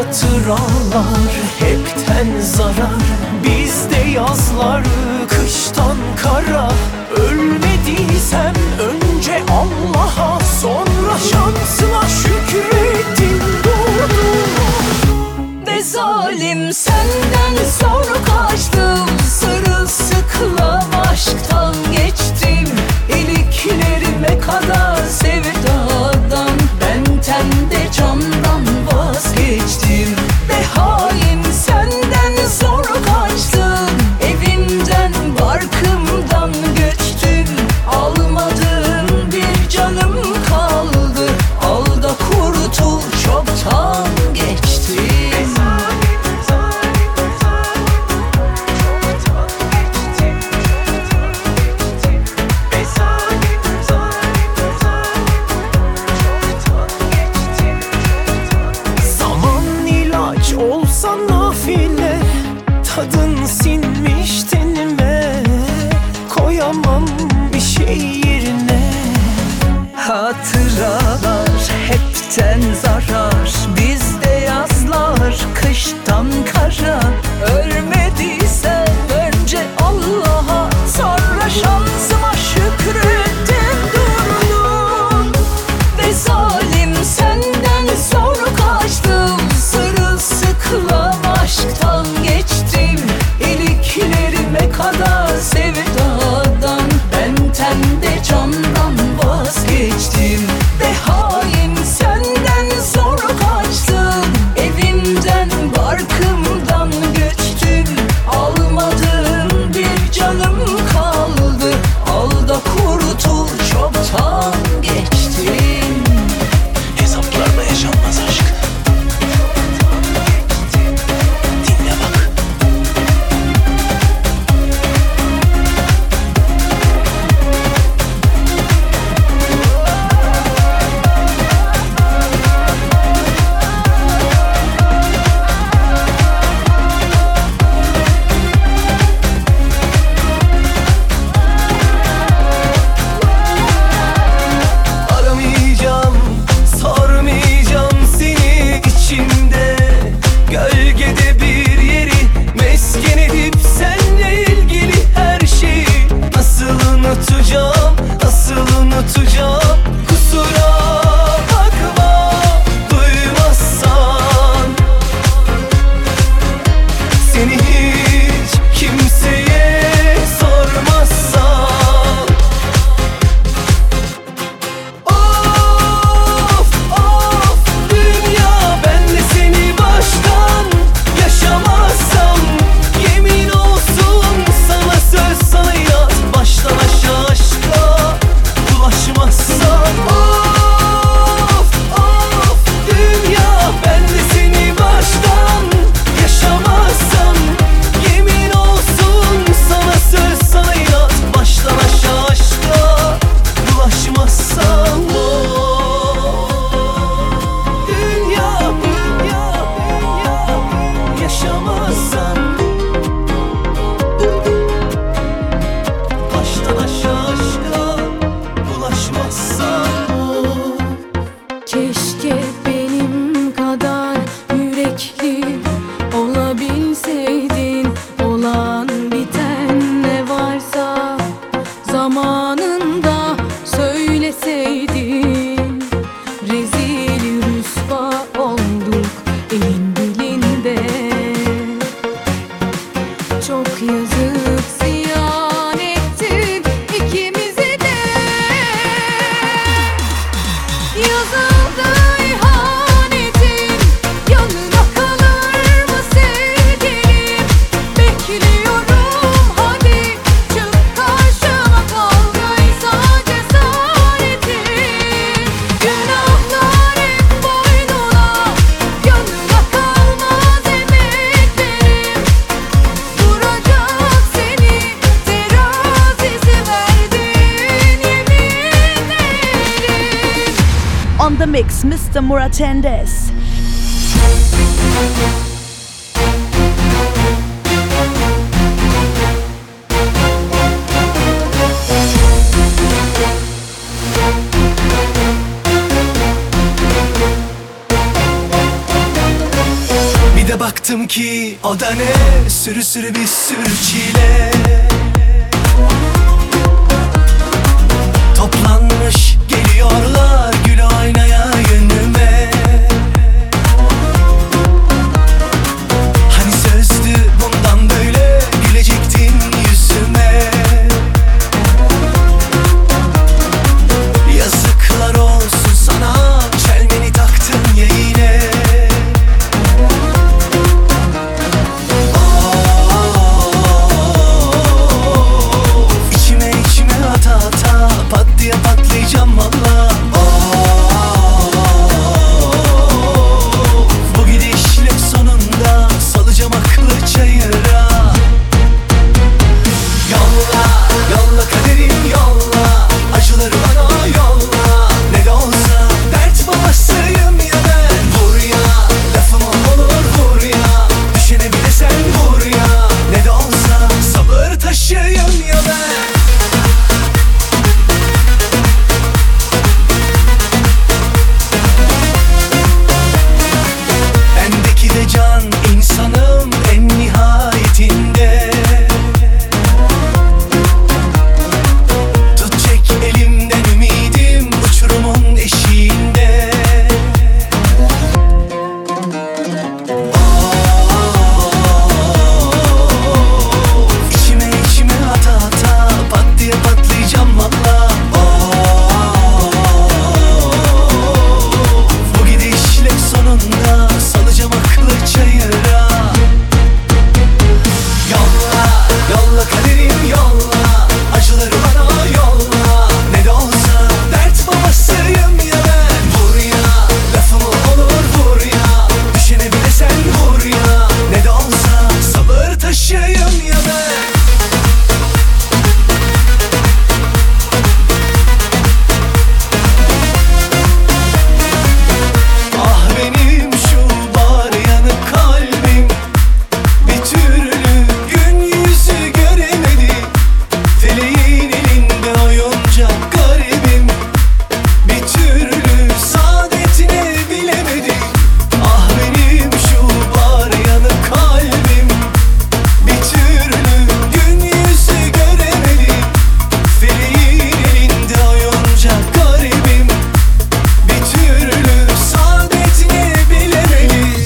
Hatıralar hepten zarar, bizde yazlar kıştan kara. Ölmediysem önce Allah'a, sonra şansıma şükrettim durdum. Ne zalim senden zor kaçtım, sırılsıklam aşktan geçtim. İliklerime kadar sevdadan, benden de candan vazgeçtim. Be hain senden zor kaçtım, evimden barkımdan göçtüm. Almadığım bir canım kaldı, al da kurtul, çoktan geçtim. Zaman ilaç olsa nafile, tadın sinmiş tenime. Koyamam bir şey yerine. Hatıralar hepten zarar, bizde yazlar kıştan kara. Ölmediysem önce Allah'a, sonra şansıma şükrettim durdum. Ve zalim senden zor kaçtım, sırılsıklam aşktan geçtim. İliklerime kadar sevdadan, benden de candan vazgeçtim. Be hain senden zor kaçtım, evimden barkımdan göçtüm. Almadığım bir canım kaldı, al da kurtul, çoktan geçtim. Hesaplarla yaşanmaz aşk. Dinle bak. Aramayacağım, sormayacağım seni içimde. Gölgede bir yeri mesken edip seninle ilgili her şeyi nasıl unutacağım, nasıl unutacağım. Kusura bakma duymazsan, seni hiç kimseye sormazsan. Of of dünya, ben de seni baştan yaşamazsam, yemin olsun sana, söz sana inat, baştan aşağı aşka bulaşmazsam. Of of dünya, ben de seni baştan yaşamazsam, yemin olsun sana, söz sana inat, baştan aşağı aşka bulaşmazsam. Dünya, dünya, dünya, yaşamazsam, baştan aşağı aşka bulaşmazsam. Keşke benim kadar yürekli olabilseydin. Olan biten ne varsa zamanında söyleseydin. Rezil rüsva olduk elin dilinde. Çok yazık, ziyan ettin ikimizi de. Yazıldı ihanetin, yanına kalır mı sevgilim? Bekliyorum, hadi çık karşıma, kavgaysa cesaretin. Günahlar hep boynuna, yanına kalmaz emeklerim. Duracak seni terazisi verdin yemin ederim. On the mix, Mister Muratendes. Thank you. baktım ki o da ne, sürü sürü bir sürü çile. Toplanmış geliyorlar gül oynaya yönüme. Hani sözdü bundan böyle gülecektin yüzüme. Yazıklar olsun sana, çelmeni taktın ya yine. İçime içime ata ata pat diye patlayacağım valla. Bu gidişle sonunda salacağım aklı çayıra. Yolla, yolla kaderim yolla, acıları bana yolla. Ne de olsa dert babasıyım ya ben. Vur ya, lafım olur vur ya, düşene bile sen vur ya. Ne de olsa sabır taşıyım ya ben. Bendeki de can insanım en nihayetinde. Tut çek elimden ümidim uçurumun eşiğinde. İçime içime ata ata pat diye patlayacağım valla. Bu gidişle sonunda salacağım aklı çayıra. Yolla, yolla kaderim yolla, acıları bana yolla. Ne de olsa dert babasıyım ya ben. Vur ya, lafım olur vur ya, düşene bile sen vur ya. Ne de olsa sabır taşıyım ya ben. Ah benim şu bar yanık kalbim, bir türlü gün yüzü göremedi. Feleğin elinde oyuncak garibim, bir türlü saadetini bilemedi. Ah benim şu bar yanık kalbim, bir türlü gün yüzü göremedi. Feleğin elinde oyuncak garibim, bir türlü saadetini bilemedi.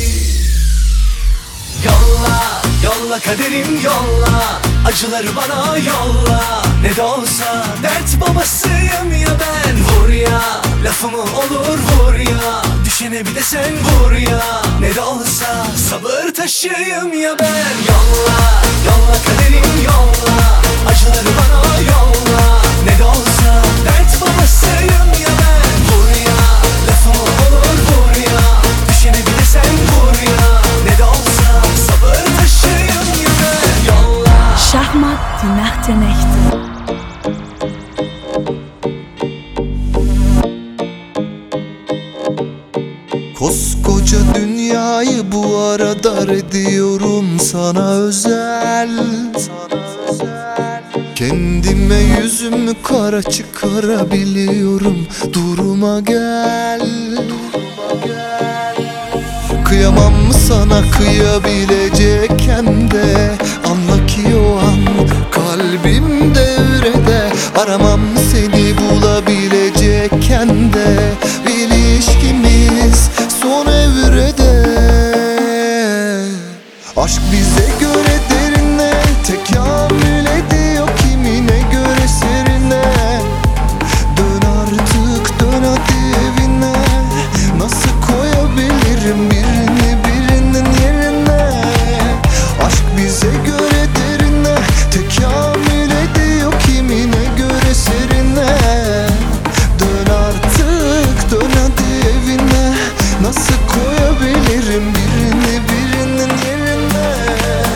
Yolla, yolla kaderim yolla, acıları bana yolla. Ne de olsa dert babasıyım ya ben. Vur ya, lafımı olur vur ya, düşene bir de sen vur ya. Ne de olsa sabır taşıyım ya ben. Yolla, yolla kaderim yolla, acıları bana yolla. Ne de olsa dert babasıyım ya ben. Vur ya, lafımı olur vur ya, düşene bir de sen vur ya. Ne de olsa sabır taşıyım ya ben. Yolla. Schachmatt, die Nacht der Nächte. Koskoca dünyayı bu ara dar ediyorum sana özel. Kendime yüzümü kara çıkarabiliyorum. Duruma gel. Kıyamam mı sana kıyabilecekken de, anla ki o an kalbim devrede. Aramam seni bulabilecekken de, ilişkimiz son evrede. Aşk bize göre derine, tekamül ediyor kimine göre serine. Dön artık dön hadi evine, nasıl koyabilirim birini birinin yerine. Aşk bize göre derine, tekamül ediyor kimine göre serine. Dön artık dön hadi evine, nasıl koyabilirim birini birinin yerine.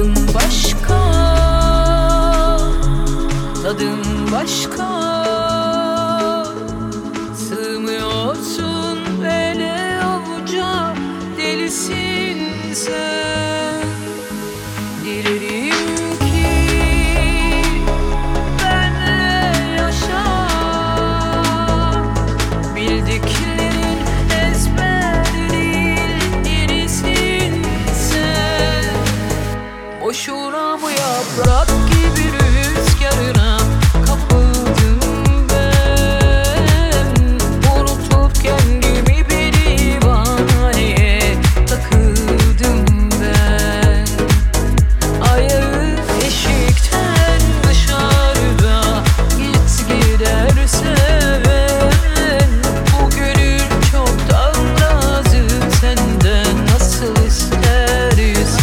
Tadın başka, tadın başka. Sığmıyorsun ele avuca, delisin sen. Dilerim ki benle yaşa, bildiklerin ezber değil, yenisin sen. Boşuna bu yaprak gibi rüzgarına kapıldım ben. Unutup kendimi bir divaneye takıldım ben. Ayağı eşikten dışarıda git gidersen, bu gönül çoktan razı senden nasıl istersen.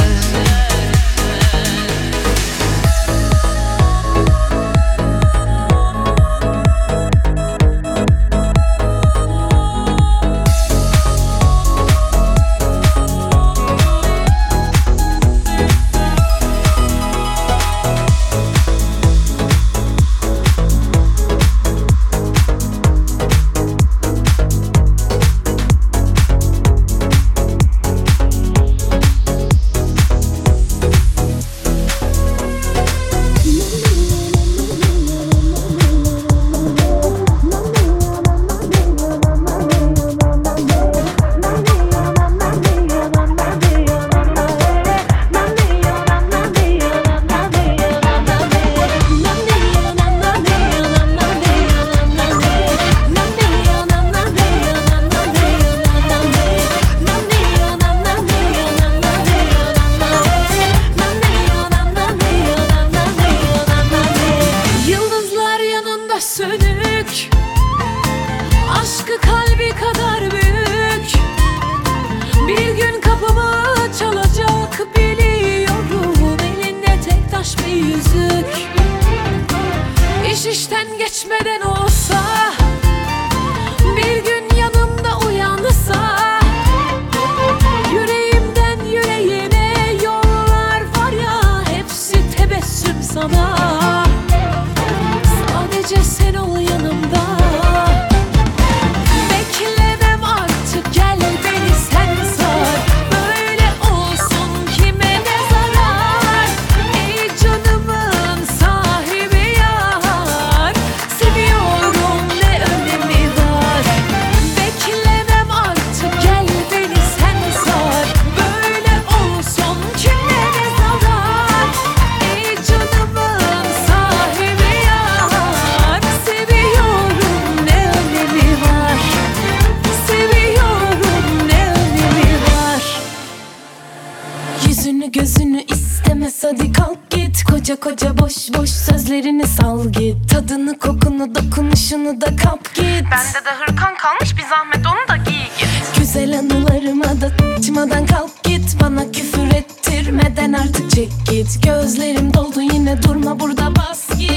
Yıldızlar yanında sönük, aşkı kalbi kadar büyük. Bir gün kapımı çalacak biliyorum, elinde tek taş bir yüzük. İş işten geçmeden olsa, bir gün yanımda uyansa, yüreğimden yüreğine yollar var ya, hepsi tebessüm sana. Sadece sen ol yanımda. Beklemem artık, gel beni sen sar. Böyle olsun kime ne zarar? Ey canımın sahibi yar, seviyorum ne önemi var? Beklemem artık, gel beni sen sar. Böyle olsun kime ne zarar? Ey canımın sahibi yar, seviyorum ne önemi var? Seviyorum ne önemi var? Yüzünü gözünü istemez, hadi kalk git. Koca koca boş boş sözlerini sal git. Tadını kokunu dokunuşunu da kap git. Bende de hırkan kalmış, bir zahmet onu da giy git. Güzel anılarıma da açmadan kalk git. Bana küfür ettirmeden artık çek git. Gözlerim doldu yine, durma burada, bas git.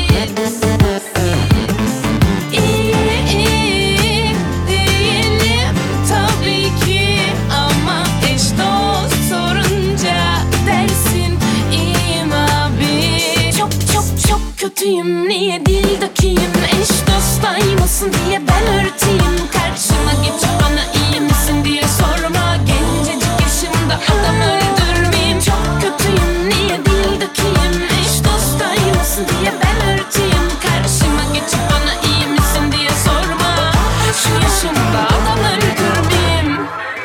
İyi iyi değilim tabii ki, ama eş dost sorunca dersin iyiyim abi. Çok çok çok kötüyüm, niye dil dökeyim? Eş dostayım olsun diye ben örteyim. Karşıma geçip bana iyi misin diye sorma. Gencecik yaşımda adam öldürmeyeyim. Çok kötüyüm, niye dil dökeyim? Eş dostayım olsun diye ben örteyim. Karşıma geçip bana iyi misin diye sorma. Şu yaşımda adam öldürmeyeyim.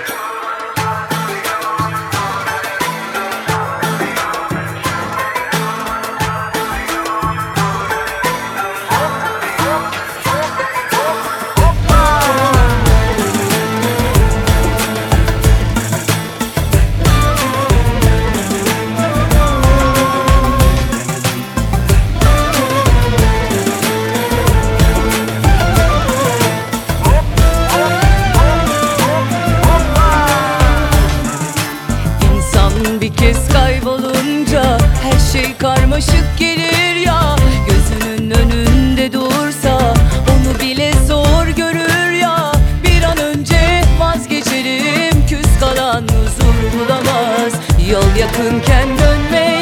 karmaşık gelir ya. Gözünün önünde dursa onu bile zor görür ya. Bir an önce vazgeçelim, küs kalan huzur bulamaz. Yol yakınken dönme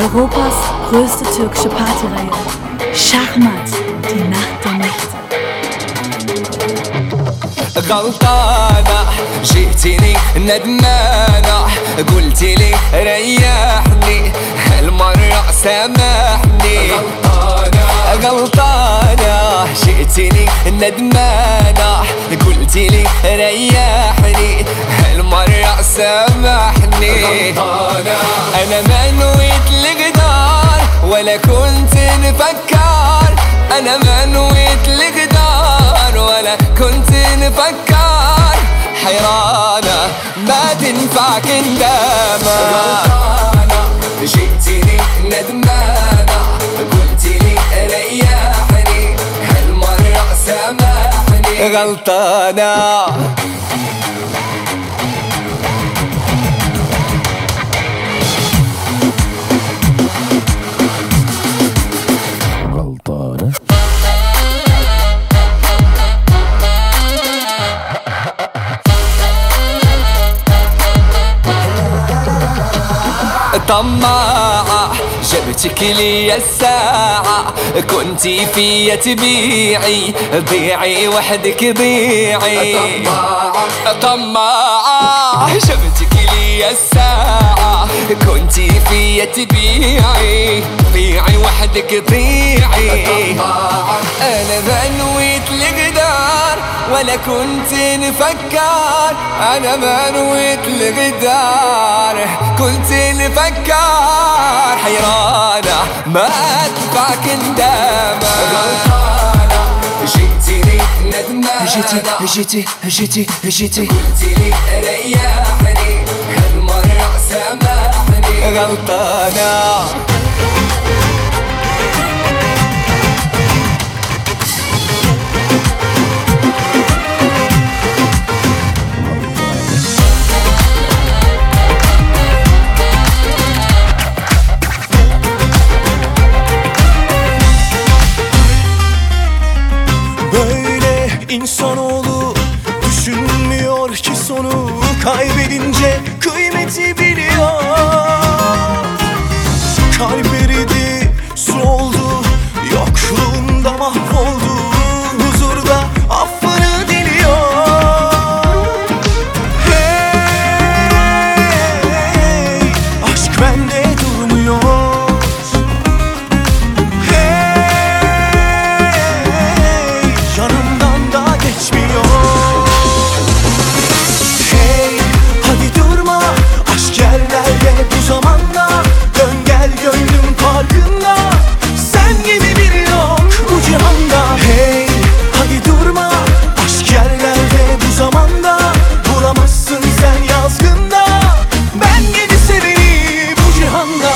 Europas größte türkische Partyreihe. Schachmat, die Nacht der Nächte. غلطانة جئتني ندمانة قلت لي ريحني هالمرة سامحني غلطانة غلطانة جئتني ندمانة قلت لي ريحني هالمرة سامحني غلطانة أنا ما نويت الغدار ولا كنت نفكر أنا ما نويت الغدار ولا كنت نفكر حيرانة ما تنفع كندامة غلطانة جئتني ندمانة قلت لي ريحني هالمرة سامحني غلطانة غلطانة طماعة جبتك لي الساعة كنتي فيا تبيعي ضيعي وحدك ضيعي طماعة طماعة جبتك لي الساعة كنتي فيا تبيعي ضيعي وحدك ضيعي أنا ما نويت الغدار ولا كنت نفكر أنا ما نويت الغدار كنت نفكر حيرانة ما أدفع كندامة غلطانة جئتني ندمانة جيتي جيتي جيتي جيتي قلت لي ريحني هالمرة سامحني غلطانة İnsanoğlu düşünmüyor ki sonu kaybedince kıymeti biliyor. Kalp eridi, su oldu, yokluğunda mahvoldu, huzurda affını diliyor. Hey, aşk bende durmuyor. Hey, yanımdan geçmiyor. Hey, hadi durma, aşk yerlerde bu zamanda. Dön gel gönlüm farkında, sen gibi biri yok bu cihanda. Hey, hadi durma, aşk yerlerde bu zamanda. Bulamazsın sen yazgında, ben gibi seveni bu cihanda.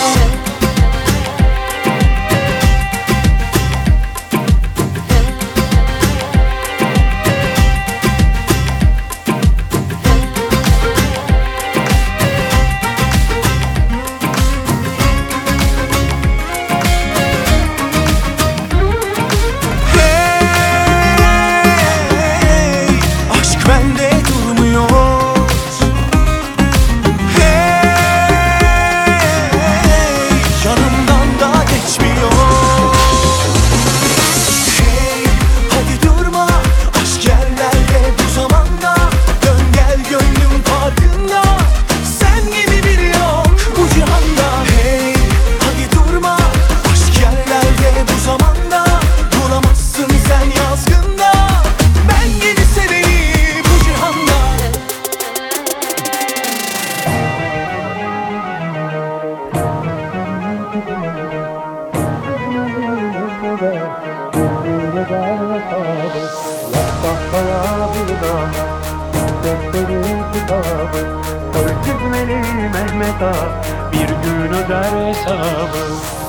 Bir gün öder hesabı.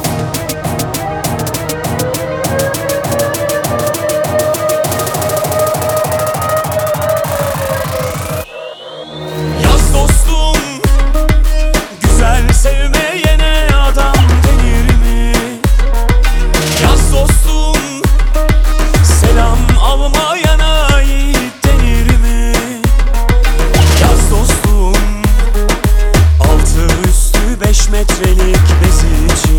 Yaz dostum, güzel sevmeyene adam denir mi? Yaz dostum, selam almayana yiğit denir mi? Yaz dostum, altı üstü beş metrelik bezi için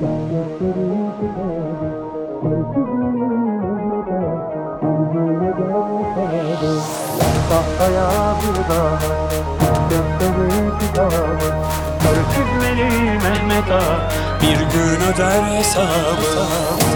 Tahtaya bir dağ, gökleri bir dağ. Sarı çizmeli Mehmet Ağa bir gün öder hesabı.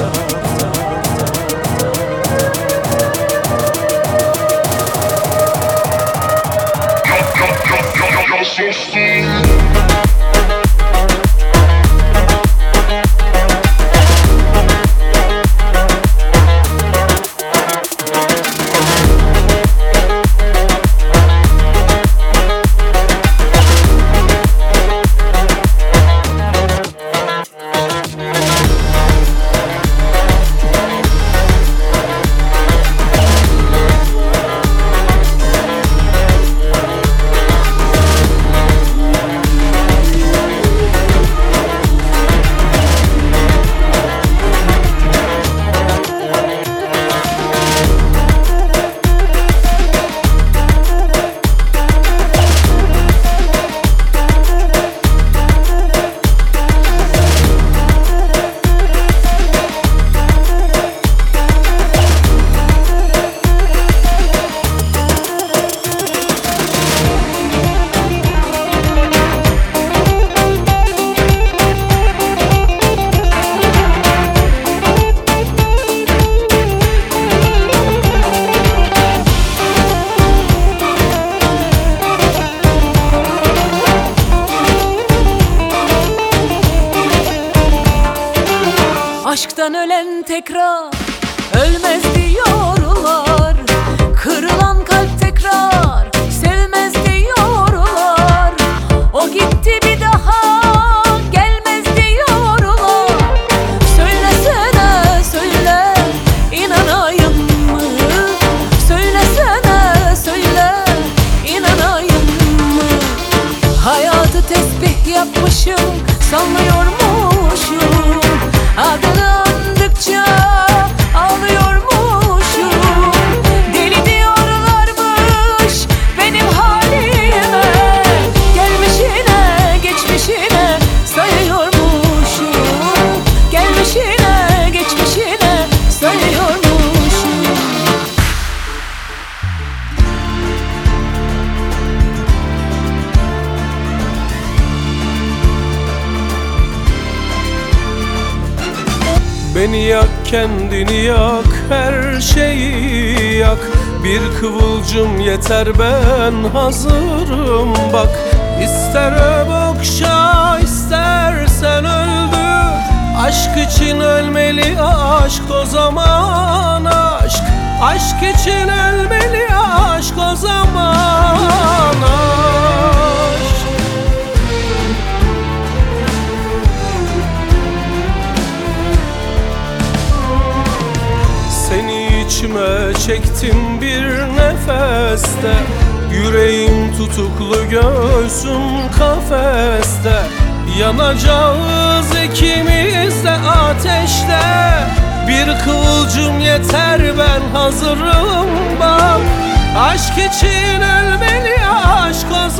Aşktan ölen tekrar ölmez diyorlar. Kırılan kalp tekrar sevmez diyorlar. O gitti bir daha gelmez diyorlar. Söylesene söyle inanayım mı? Söylesene söyle inanayım mı? Hayatı tesbih yapmışım sanıyormuşum. Adını andıkça ağlıyormuşum. Deli diyorlarmış benim halime. Gelmişine geçmişine sayıyormuşum. Gelmişine geçmişine sayıyormuşum. Beni yak, kendini yak, her şeyi yak. Bir kıvılcım yeter, ben hazırım bak. İster öp okşa, istersen öldür. Aşk için ölmeli aşk, o zaman aşk. Aşk için ölmeli aşk, o zaman aşk. Seni içime çektim bir nefeste. Yüreğim tutuklu, göğsüm kafeste. Yanacağız ikimiz de ateşte. Bir kıvılcım yeter, ben hazırım bak. Aşk için ölmeli aşk, o